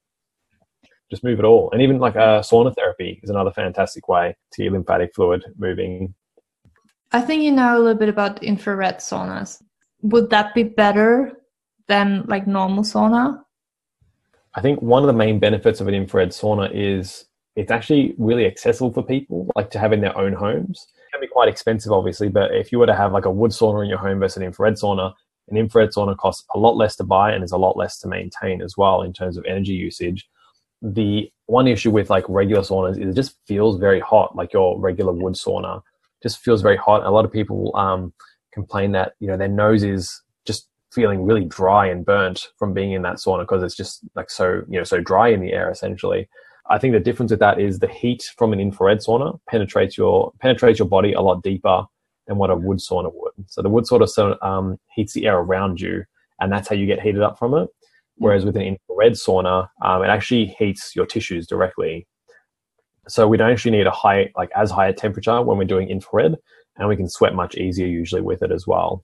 Just move it all. And even like a uh, sauna therapy is another fantastic way to get lymphatic fluid moving. I think you know a little bit about infrared saunas. Would that be better than like normal sauna? I think one of the main benefits of an infrared sauna is it's actually really accessible for people, like to have in their own homes. It can be quite expensive, obviously, but if you were to have like a wood sauna in your home versus an infrared sauna, an infrared sauna costs a lot less to buy and is a lot less to maintain as well in terms of energy usage. The one issue with like regular saunas is it just feels very hot, like your regular wood sauna just feels very hot. A lot of people um, complain that, you know, their nose is just feeling really dry and burnt from being in that sauna because it's just like so, you know, so dry in the air essentially. I think the difference with that is the heat from an infrared sauna penetrates your penetrates your body a lot deeper than what a wood sauna would. So the wood sauna um, heats the air around you, and that's how you get heated up from it. Whereas with an infrared sauna, um, it actually heats your tissues directly. So we don't actually need a high, like as high a temperature when we're doing infrared, and we can sweat much easier usually with it as well.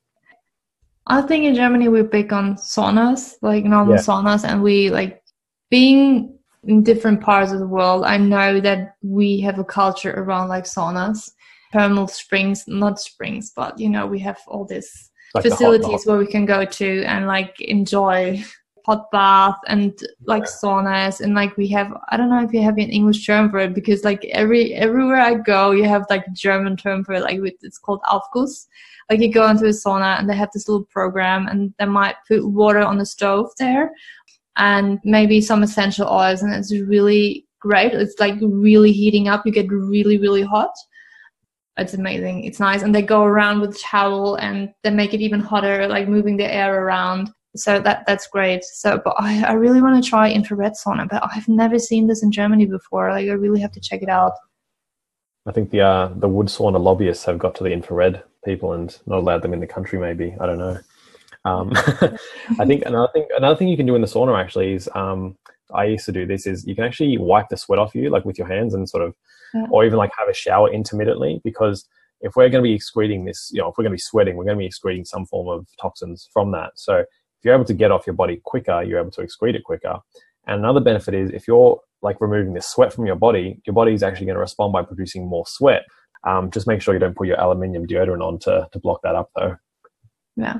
I think in Germany we're big on saunas, like normal yeah. saunas, and we like being in different parts of the world. I know that we have a culture around like saunas, thermal springs, not springs, but you know, we have all these like facilities the hot, the hot. where we can go to and like enjoy hot bath and like yeah. saunas, and like we have, I don't know if you have an English term for it, because like every everywhere I go you have like a German term for it, like it's called Aufguss. Like you go into a sauna and they have this little program, and they might put water on the stove there and maybe some essential oils, and it's really great. It's like really heating up. You get really really hot. It's amazing. It's nice. And they go around with a towel and they make it even hotter, like moving the air around. So that that's great. So, but I, I really want to try infrared sauna, but I've never seen this in Germany before. Like I really have to check it out. I think the uh, the wood sauna lobbyists have got to the infrared people and not allowed them in the country. Maybe, I don't know. Um, I think another thing another thing you can do in the sauna actually is um, I used to do this is you can actually wipe the sweat off you, like with your hands, and sort of, yeah. or even like have a shower intermittently, because if we're going to be excreting this, you know, if we're going to be sweating, we're going to be excreting some form of toxins from that. So if you're able to get off your body quicker, you're able to excrete it quicker. And another benefit is if you're like removing the sweat from your body, your body is actually going to respond by producing more sweat. Um, just make sure you don't put your aluminium deodorant on to, to block that up though. Yeah.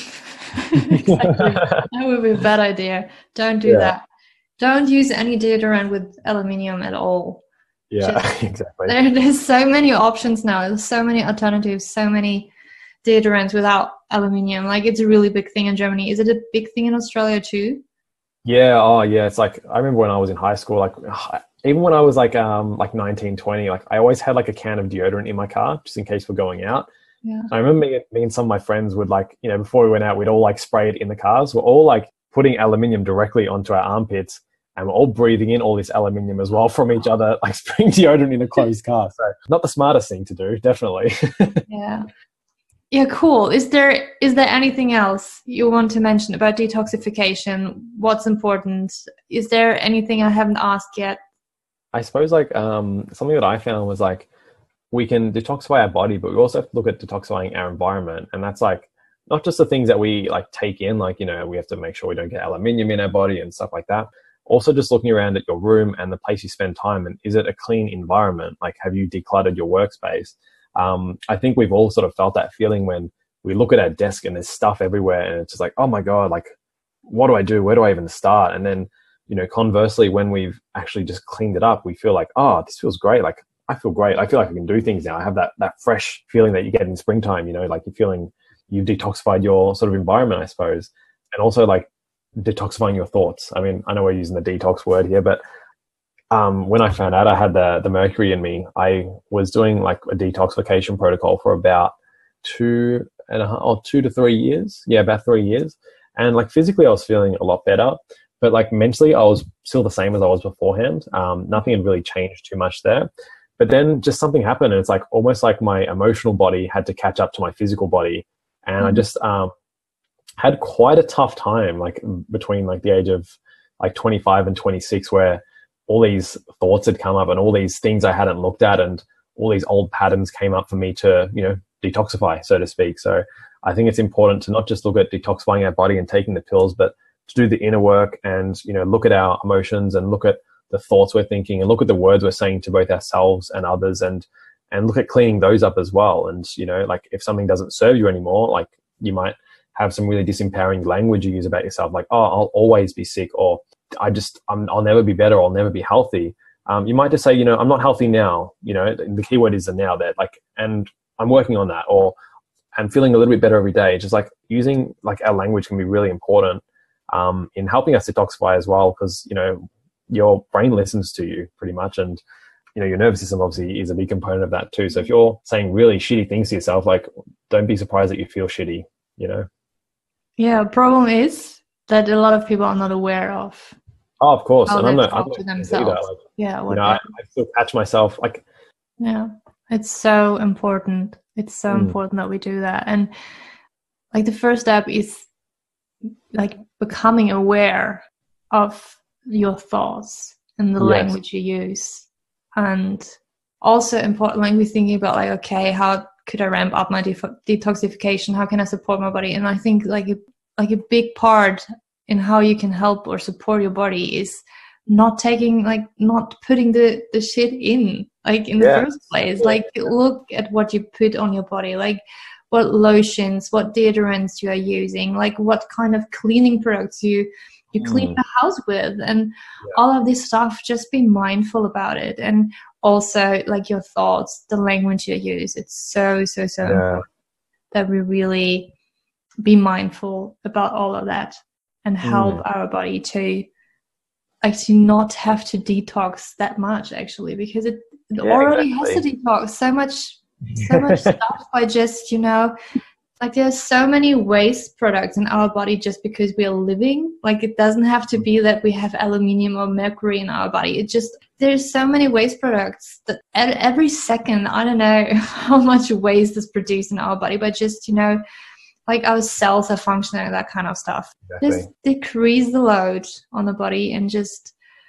Exactly. That would be a bad idea. Don't do yeah. that. Don't use any deodorant with aluminium at all. Yeah, Just, exactly. There, there's so many options now. There's so many alternatives, so many deodorants without aluminium. Like, it's a really big thing in Germany. Is it a big thing in Australia too? Yeah. Oh, yeah. It's like, I remember when I was in high school, like even when I was like, um, like nineteen, twenty, like I always had like a can of deodorant in my car just in case we're going out. Yeah. I remember me, me and some of my friends would like, you know, before we went out, we'd all like spray it in the cars. We're all like putting aluminium directly onto our armpits, and we're all breathing in all this aluminium as well from each other, like spraying deodorant in a closed car. So not the smartest thing to do, definitely. Yeah. Yeah, cool. Is there is there anything else you want to mention about detoxification? What's important? Is there anything I haven't asked yet? I suppose like um, something that I found was like, we can detoxify our body, but we also have to look at detoxifying our environment. And that's like, not just the things that we like take in, like, you know, we have to make sure we don't get aluminium in our body and stuff like that. Also just looking around at your room and the place you spend time, and is it a clean environment? Like, have you decluttered your workspace? Um, I think we've all sort of felt that feeling when we look at our desk and there's stuff everywhere and it's just like, oh my God, like, what do I do? Where do I even start? And then, you know, conversely, when we've actually just cleaned it up, we feel like, oh, this feels great. Like, I feel great. I feel like I can do things now. I have that that fresh feeling that you get in springtime, you know, like you're feeling you've detoxified your sort of environment, I suppose. And also like detoxifying your thoughts. I mean, I know we're using the detox word here, but um, when I found out I had the, the mercury in me, I was doing like a detoxification protocol for about two and a half, or two to three years. Yeah, about three years. And like physically I was feeling a lot better, but like mentally I was still the same as I was beforehand. Um, nothing had really changed too much there. But then just something happened, and it's like almost like my emotional body had to catch up to my physical body. And mm-hmm. I just um, had quite a tough time, like between like the age of like twenty-five and twenty-six, where all these thoughts had come up and all these things I hadn't looked at and all these old patterns came up for me to, you know, detoxify, so to speak. So I think it's important to not just look at detoxifying our body and taking the pills, but to do the inner work and, you know, look at our emotions and look at the thoughts we're thinking and look at the words we're saying to both ourselves and others, and and look at cleaning those up as well. And, you know, like if something doesn't serve you anymore, like you might have some really disempowering language you use about yourself, like, oh, I'll always be sick, or I just, I'm, I'll never be better, I'll never be healthy. Um, you might just say, you know, I'm not healthy now, you know, the key word is the now there, like, and I'm working on that, or I'm feeling a little bit better every day. Just like using like our language can be really important um, in helping us detoxify as well, because, you know, your brain listens to you pretty much, and you know your nervous system obviously is a big component of that too. So if you're saying really shitty things to yourself, like don't be surprised that you feel shitty, you know. Yeah, problem is that a lot of people are not aware of. Oh, of course, and I'm not, talk I'm not to themselves. Like, yeah, what you know, I, I still catch myself like. Yeah, it's so important. It's so mm. important that we do that, and like the first step is like becoming aware of your thoughts and the yes. language you use. And also important, like we're thinking about like, okay, how could I ramp up my de- detoxification? How can I support my body? And I think like a, like a big part in how you can help or support your body is not taking, like not putting the, the shit in, like in yeah. the first place. Like look at what you put on your body, like what lotions, what deodorants you are using, like what kind of cleaning products you you clean mm. the house with, and yeah. all of this stuff. Just be mindful about it. And also like your thoughts, the language you use, it's so so so yeah. important that we really be mindful about all of that and help mm. our body to actually not have to detox that much, actually, because it, it yeah, already exactly. has to detox so much so much stuff by just, you know, like there's so many waste products in our body just because we are living. Like it doesn't have to be that we have aluminium or mercury in our body. It just, there's so many waste products that at every second, I don't know how much waste is produced in our body, but just, you know, like our cells are functioning, that kind of stuff. Exactly. Just decrease the load on the body and just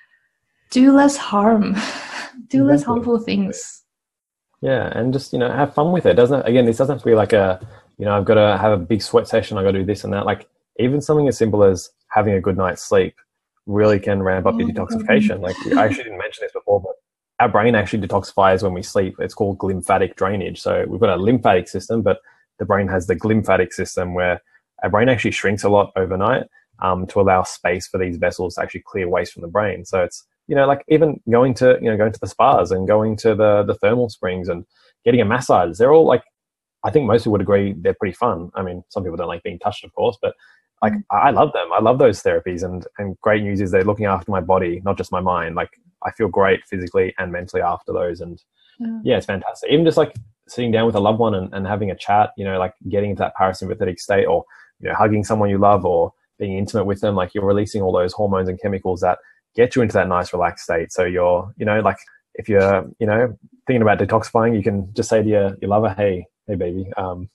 do less harm, do exactly. less harmful things. Yeah, and just, you know, have fun with it. Doesn't again, this doesn't have to be like a, you know, I've got to have a big sweat session, I've got to do this and that. Like even something as simple as having a good night's sleep really can ramp up your detoxification. Like I actually didn't mention this before, but our brain actually detoxifies when we sleep. It's called glymphatic drainage. So we've got a lymphatic system, but the brain has the glymphatic system where our brain actually shrinks a lot overnight um, to allow space for these vessels to actually clear waste from the brain. So it's, you know, like even going to, you know, going to the spas and going to the, the thermal springs and getting a massage, they're all like, I think most people would agree they're pretty fun. I mean, some people don't like being touched, of course, but like I love them. I love those therapies, and, and great news is they're looking after my body, not just my mind. Like I feel great physically and mentally after those. And yeah, yeah it's fantastic. Even just like sitting down with a loved one and, and having a chat, you know, like getting into that parasympathetic state, or, you know, hugging someone you love or being intimate with them, like you're releasing all those hormones and chemicals that get you into that nice relaxed state. So you're, you know, like if you're, you know, thinking about detoxifying, you can just say to your, your lover, hey, hey baby, um,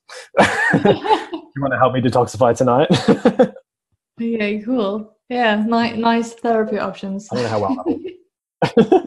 you want to help me detoxify tonight? Okay, cool. Yeah, nice, nice therapy options. I don't know how well that will.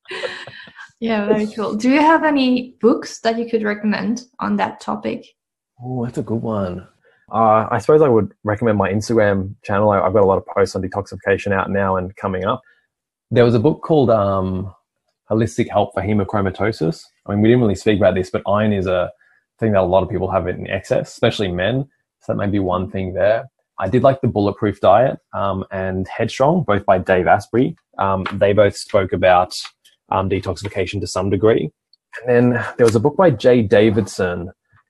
Yeah, very cool. Do you have any books that you could recommend on that topic? Oh, that's a good one. Uh, I suppose I would recommend my Instagram channel. I, I've got a lot of posts on detoxification out now and coming up. There was a book called um, Holistic Help for Hemochromatosis. I mean, we didn't really speak about this, but iron is a thing that a lot of people have in excess, especially men. So that may be one thing there. I did like the Bulletproof Diet um, and Headstrong, both by Dave Asprey. Um, they both spoke about um, detoxification to some degree. And then there was a book by Jay Davidson.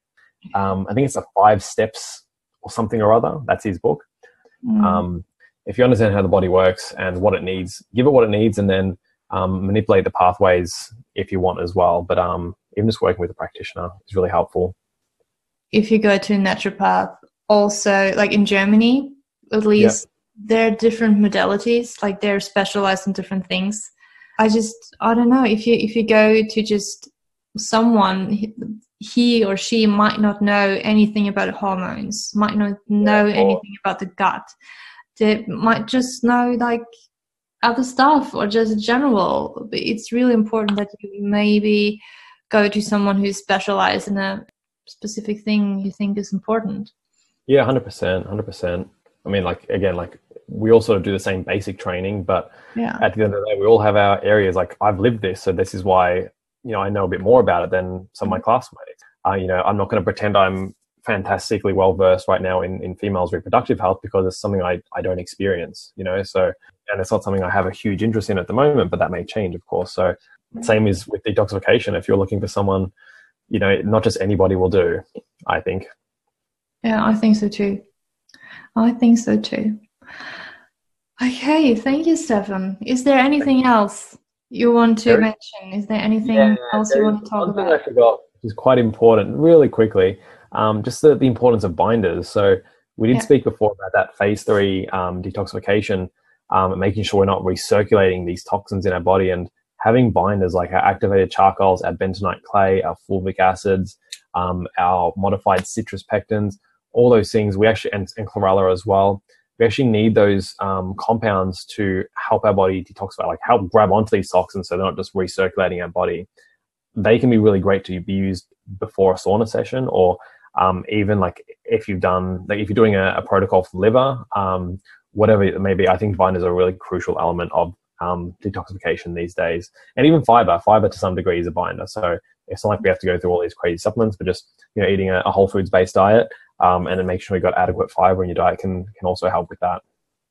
Um, I think it's a Five Steps or something or other. That's his book. Mm. Um, if you understand how the body works and what it needs, give it what it needs, and then um, manipulate the pathways if you want as well. But um, even just working with a practitioner is really helpful. If you go to a naturopath, also like in Germany, at least, yeah. there are different modalities, like they're specialized in different things. I just, I don't know, if you if you go to just someone, he or she might not know anything about hormones, might not know yeah, anything about the gut. They might just know like other stuff or just general. But it's really important that you maybe go to someone who's specialized in a specific thing you think is important. Yeah, one hundred percent, one hundred percent. I mean, like, again, like we all sort of do the same basic training, but yeah. at the end of the day, we all have our areas. Like I've lived this, so this is why, you know, I know a bit more about it than some of my classmates. Uh, you know, I'm not going to pretend I'm fantastically well versed right now in, in females' reproductive health because it's something I, I don't experience, you know, so, and it's not something I have a huge interest in at the moment, but that may change, of course. So same is with detoxification. If you're looking for someone, you know, not just anybody will do, I think. Yeah, I think so too. I think so too. Okay, thank you, Stefan. Is there anything else you want to there, mention? Is there anything yeah, else you want to talk about? I forgot, which is quite important, really quickly, um, just the, the importance of binders. So we did yeah. speak before about that phase three um, detoxification, um, making sure we're not recirculating these toxins in our body, and having binders like our activated charcoals, our bentonite clay, our fulvic acids, um, our modified citrus pectins, all those things, we actually, and, and chlorella as well, we actually need those um, compounds to help our body detoxify, like help grab onto these toxins so they're not just recirculating our body. They can be really great to be used before a sauna session, or um, even like if you've done, like if you're doing a, a protocol for liver, um, whatever it may be, I think binders are a really crucial element of um, detoxification these days. And even fiber, fiber to some degree is a binder. So it's not like we have to go through all these crazy supplements, but just, you know, eating a, a whole foods based diet um, and then make sure you got adequate fiber in your diet can can also help with that.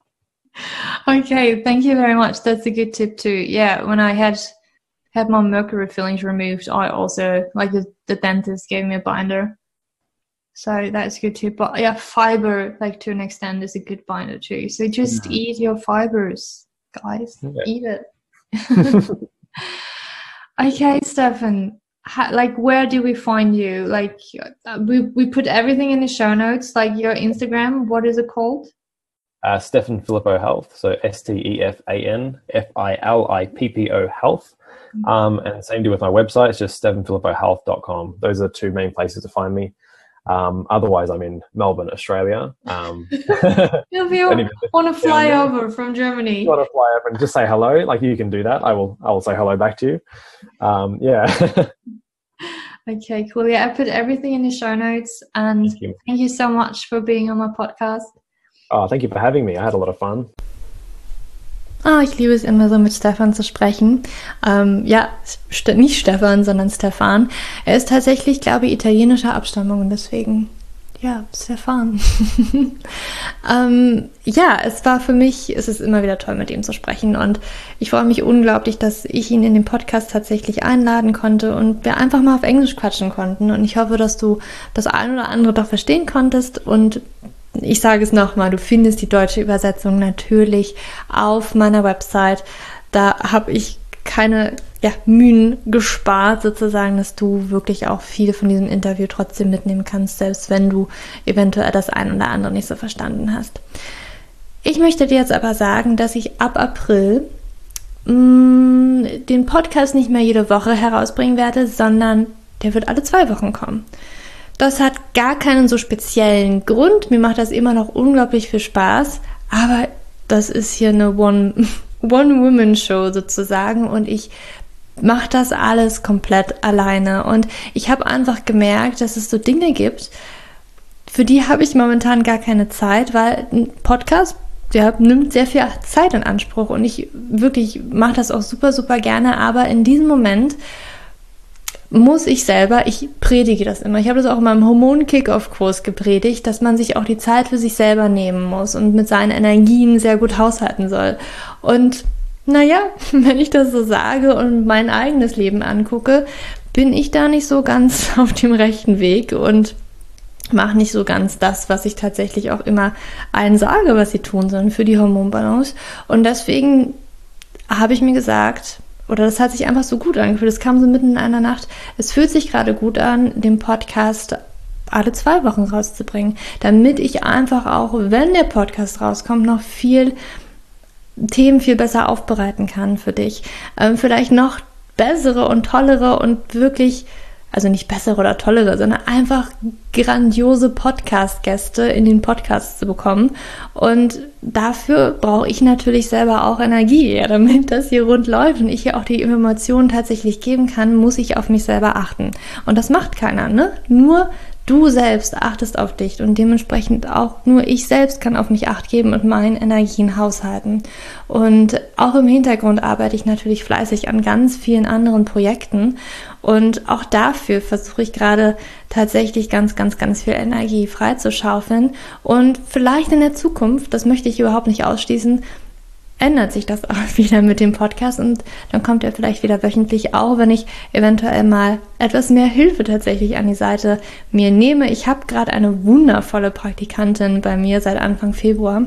Okay, thank you very much. That's a good tip too. Yeah, when I had had my mercury fillings removed, I also, like the, the dentist gave me a binder. So that's a good tip. But yeah, fiber, like to an extent, is a good binder too. So just yeah. eat your fibers, guys. Yeah. Eat it. Okay, Stefan. How, like, where do we find you? Like, uh, we we put everything in the show notes. Like your Instagram, what is it called? Uh, Stefan Filippo Health. So S T E F A N F I L I P P O Health. Mm-hmm. Um, and same do with my website. It's just stefan filippo health dot com. Those are the two main places to find me. Um, otherwise, I'm in Melbourne, Australia. Um, if you want to fly over from Germany, you want to fly over and just say hello, like you can do that. I will. I will say hello back to you. Um, yeah. Okay, cool. Yeah, I put everything in the show notes, and thank you. thank you so much for being on my podcast. Oh, thank you for having me. I had a lot of fun. Ah, ich liebe es immer so, mit Stefan zu sprechen. Ähm, ja, st- nicht Stefan, sondern Stefan. Er ist tatsächlich, glaube ich, italienischer Abstammung und deswegen, ja, Stefan. ähm, ja, es war für mich, es ist immer wieder toll, mit ihm zu sprechen und ich freue mich unglaublich, dass ich ihn in den Podcast tatsächlich einladen konnte und wir einfach mal auf Englisch quatschen konnten und ich hoffe, dass du das ein oder andere doch verstehen konntest und ich sage es nochmal, du findest die deutsche Übersetzung natürlich auf meiner Website. Da habe ich keine ja, Mühen gespart, sozusagen, dass du wirklich auch viel von diesem Interview trotzdem mitnehmen kannst, selbst wenn du eventuell das ein oder andere nicht so verstanden hast. Ich möchte dir jetzt aber sagen, dass ich ab April mh, den Podcast nicht mehr jede Woche herausbringen werde, sondern der wird alle zwei Wochen kommen. Das hat gar keinen so speziellen Grund. Mir macht das immer noch unglaublich viel Spaß. Aber das ist hier eine One, One-Woman-Show sozusagen. Und ich mache das alles komplett alleine. Und ich habe einfach gemerkt, dass es so Dinge gibt, für die habe ich momentan gar keine Zeit, weil ein Podcast, der nimmt sehr viel Zeit in Anspruch. Und ich wirklich mache das auch super, super gerne. Aber in diesem Moment muss ich selber, ich predige das immer, ich habe das auch in meinem Hormon-Kick-Off-Kurs gepredigt, dass man sich auch die Zeit für sich selber nehmen muss und mit seinen Energien sehr gut haushalten soll. Und naja, wenn ich das so sage und mein eigenes Leben angucke, bin ich da nicht so ganz auf dem rechten Weg und mache nicht so ganz das, was ich tatsächlich auch immer allen sage, was sie tun sollen für die Hormonbalance. Und deswegen habe ich mir gesagt, oder das hat sich einfach so gut angefühlt. Es kam so mitten in einer Nacht. Es fühlt sich gerade gut an, den Podcast alle zwei Wochen rauszubringen, damit ich einfach auch, wenn der Podcast rauskommt, noch viel Themen viel besser aufbereiten kann für dich. Ähm, vielleicht noch bessere und tollere und wirklich, also nicht bessere oder tollere, sondern einfach grandiose Podcast-Gäste in den Podcast zu bekommen. Und dafür brauche ich natürlich selber auch Energie, ja, damit das hier rund läuft und ich hier auch die Informationen tatsächlich geben kann, muss ich auf mich selber achten. Und das macht keiner, ne? Nur du selbst achtest auf dich und dementsprechend auch nur ich selbst kann auf mich Acht geben und meinen Energien haushalten. Und auch im Hintergrund arbeite ich natürlich fleißig an ganz vielen anderen Projekten und auch dafür versuche ich gerade tatsächlich ganz, ganz, ganz viel Energie freizuschaufeln und vielleicht in der Zukunft, das möchte ich überhaupt nicht ausschließen, ändert sich das auch wieder mit dem Podcast und dann kommt er vielleicht wieder wöchentlich, auch wenn ich eventuell mal etwas mehr Hilfe tatsächlich an die Seite mir nehme. Ich habe gerade eine wundervolle Praktikantin bei mir seit Anfang Februar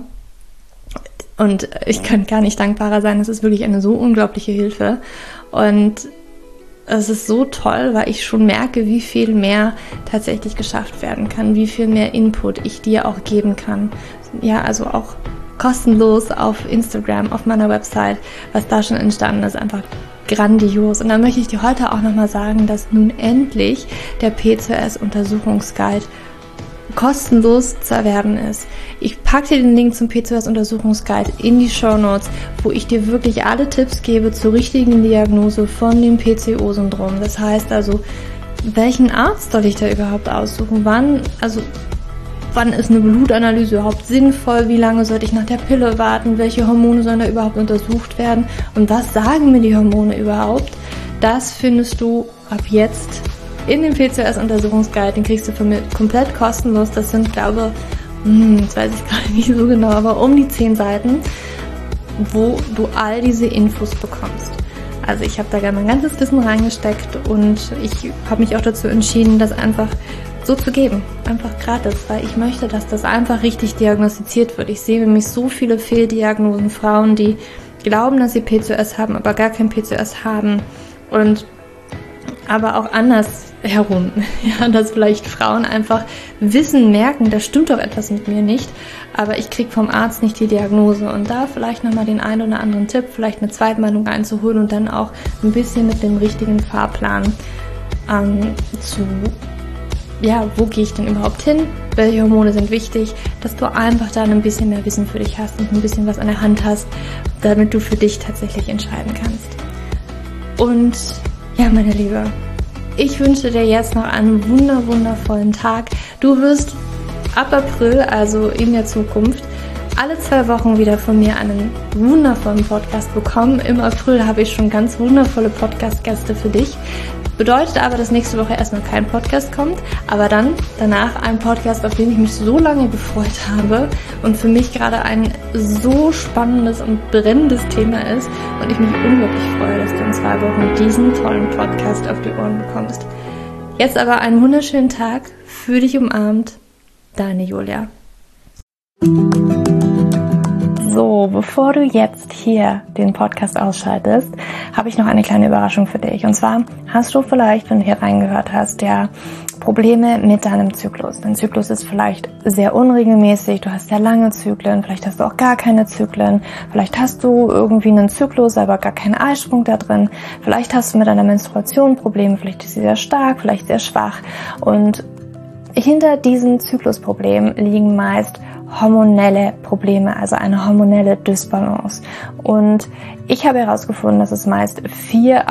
und ich kann gar nicht dankbarer sein. Es ist wirklich eine so unglaubliche Hilfe und es ist so toll, weil ich schon merke, wie viel mehr tatsächlich geschafft werden kann, wie viel mehr Input ich dir auch geben kann. Ja, also auch kostenlos auf Instagram, auf meiner Website, was da schon entstanden ist, einfach grandios. Und dann möchte ich dir heute auch nochmal sagen, dass nun endlich der P C O S-Untersuchungsguide kostenlos zu erwerben ist. Ich packe dir den Link zum P C O S-Untersuchungsguide in die Shownotes, wo ich dir wirklich alle Tipps gebe zur richtigen Diagnose von dem P C O-Syndrom. Das heißt also, welchen Arzt soll ich da überhaupt aussuchen? Wann, also Wann ist eine Blutanalyse überhaupt sinnvoll? Wie lange sollte ich nach der Pille warten? Welche Hormone sollen da überhaupt untersucht werden? Und was sagen mir die Hormone überhaupt? Das findest du ab jetzt in dem P C O S-Untersuchungsguide. Den kriegst du von mir komplett kostenlos. Das sind, glaube ich, das weiß ich gerade nicht so genau, aber um die zehn Seiten, wo du all diese Infos bekommst. Also ich habe da gerne mein ganzes Wissen reingesteckt und ich habe mich auch dazu entschieden, das einfach so zu geben, einfach gratis, weil ich möchte, dass das einfach richtig diagnostiziert wird. Ich sehe nämlich so viele Fehldiagnosen, Frauen, die glauben, dass sie P C O S haben, aber gar kein P C O S haben und aber auch anders herum, ja, dass vielleicht Frauen einfach wissen, merken, da stimmt doch etwas mit mir nicht, aber ich kriege vom Arzt nicht die Diagnose und da vielleicht nochmal den einen oder anderen Tipp, vielleicht eine Zweitmeinung einzuholen und dann auch ein bisschen mit dem richtigen Fahrplan ähm, zu ja, wo gehe ich denn überhaupt hin? Welche Hormone sind wichtig? Dass du einfach dann ein bisschen mehr Wissen für dich hast und ein bisschen was an der Hand hast, damit du für dich tatsächlich entscheiden kannst. Und ja, meine Liebe, ich wünsche dir jetzt noch einen wunder, wundervollen Tag. Du wirst ab April, also in der Zukunft, alle zwei Wochen wieder von mir einen wundervollen Podcast bekommen. Im April habe ich schon ganz wundervolle Podcast-Gäste für dich. Bedeutet aber, dass nächste Woche erstmal kein Podcast kommt, aber dann danach ein Podcast, auf den ich mich so lange gefreut habe und für mich gerade ein so spannendes und brennendes Thema ist und ich mich unglaublich freue, dass du in zwei Wochen diesen tollen Podcast auf die Ohren bekommst. Jetzt aber einen wunderschönen Tag, fühl dich umarmt, deine Julia. So, bevor du jetzt hier den Podcast ausschaltest, habe ich noch eine kleine Überraschung für dich. Und zwar hast du vielleicht, wenn du hier reingehört hast, ja Probleme mit deinem Zyklus. Dein Zyklus ist vielleicht sehr unregelmäßig, du hast sehr lange Zyklen, vielleicht hast du auch gar keine Zyklen, vielleicht hast du irgendwie einen Zyklus, aber gar keinen Eisprung da drin, vielleicht hast du mit deiner Menstruation Probleme, vielleicht ist sie sehr stark, vielleicht sehr schwach. Und hinter diesen Zyklusproblemen liegen meist hormonelle Probleme, also eine hormonelle Dysbalance. Und ich habe herausgefunden, dass es meist vier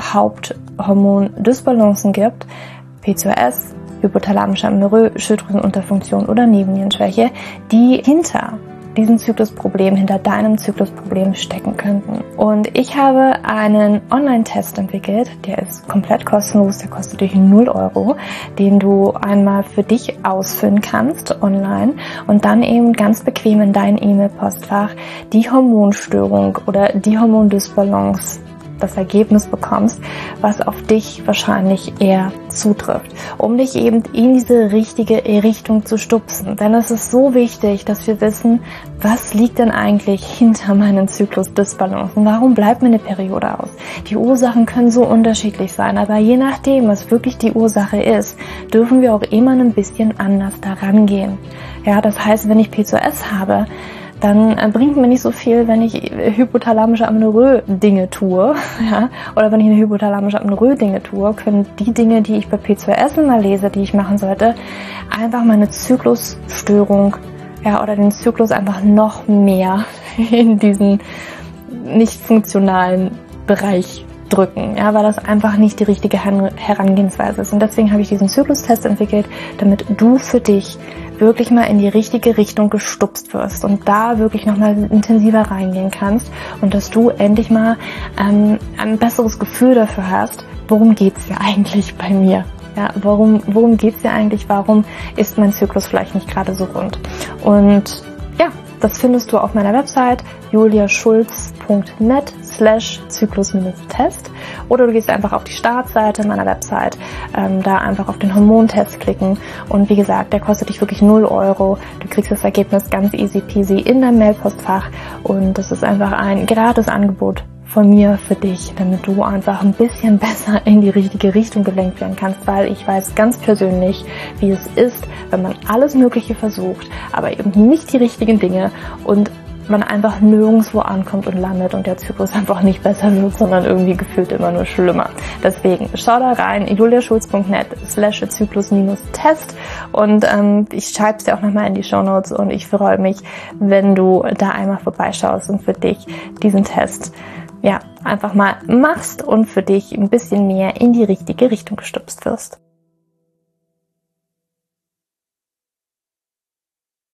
Haupthormon-Dysbalancen gibt: P C O S, hypothalamische Amenorrhoe, Schilddrüsenunterfunktion oder Nebennierenschwäche, die hinter diesem Zyklusproblem, hinter deinem Zyklusproblem stecken könnten. Und ich habe einen Online-Test entwickelt, der ist komplett kostenlos, der kostet dich null Euro, den du einmal für dich ausfüllen kannst online und dann eben ganz bequem in dein E-Mail-Postfach die Hormonstörung oder die Hormondysbalance, das Ergebnis bekommst, was auf dich wahrscheinlich eher zutrifft, um dich eben in diese richtige Richtung zu stupsen. Denn es ist so wichtig, dass wir wissen, was liegt denn eigentlich hinter meinen Zyklusdysbalancen? Warum bleibt mir eine Periode aus? Die Ursachen können so unterschiedlich sein, aber je nachdem, was wirklich die Ursache ist, dürfen wir auch immer ein bisschen anders daran gehen. Ja, das heißt, wenn ich P C O S habe, dann bringt mir nicht so viel, wenn ich hypothalamische Amenorrhoe Dinge tue, ja, oder wenn ich eine hypothalamische Amenorrhoe Dinge tue, können die Dinge, die ich bei P C O S immer lese, die ich machen sollte, einfach meine Zyklusstörung, ja, oder den Zyklus einfach noch mehr in diesen nicht funktionalen Bereich drücken, ja, weil das einfach nicht die richtige Herangehensweise ist. Und deswegen habe ich diesen Zyklustest entwickelt, damit du für dich wirklich mal in die richtige Richtung gestupst wirst und da wirklich nochmal intensiver reingehen kannst und dass du endlich mal ähm, ein besseres Gefühl dafür hast, worum geht's hier eigentlich bei mir? Ja, warum, worum geht's hier eigentlich? Warum ist mein Zyklus vielleicht nicht gerade so rund? Und ja, das findest du auf meiner Website juliaschulz.net slash Zyklus-Test oder du gehst einfach auf die Startseite meiner Website, ähm, da einfach auf den Hormontest klicken und wie gesagt, der kostet dich wirklich null Euro. Du kriegst das Ergebnis ganz easy peasy in dein Mailpostfach und das ist einfach ein gratis Angebot von mir für dich, damit du einfach ein bisschen besser in die richtige Richtung gelenkt werden kannst, weil ich weiß ganz persönlich, wie es ist, wenn man alles Mögliche versucht, aber eben nicht die richtigen Dinge und man einfach nirgendwo ankommt und landet und der Zyklus einfach nicht besser wird, sondern irgendwie gefühlt immer nur schlimmer. Deswegen schau da rein, juliaschulz.net slash Zyklus-Test und ähm, ich schreibe es dir auch nochmal in die Shownotes und ich freue mich, wenn du da einmal vorbeischaust und für dich diesen Test ja einfach mal machst und für dich ein bisschen mehr in die richtige Richtung gestupst wirst.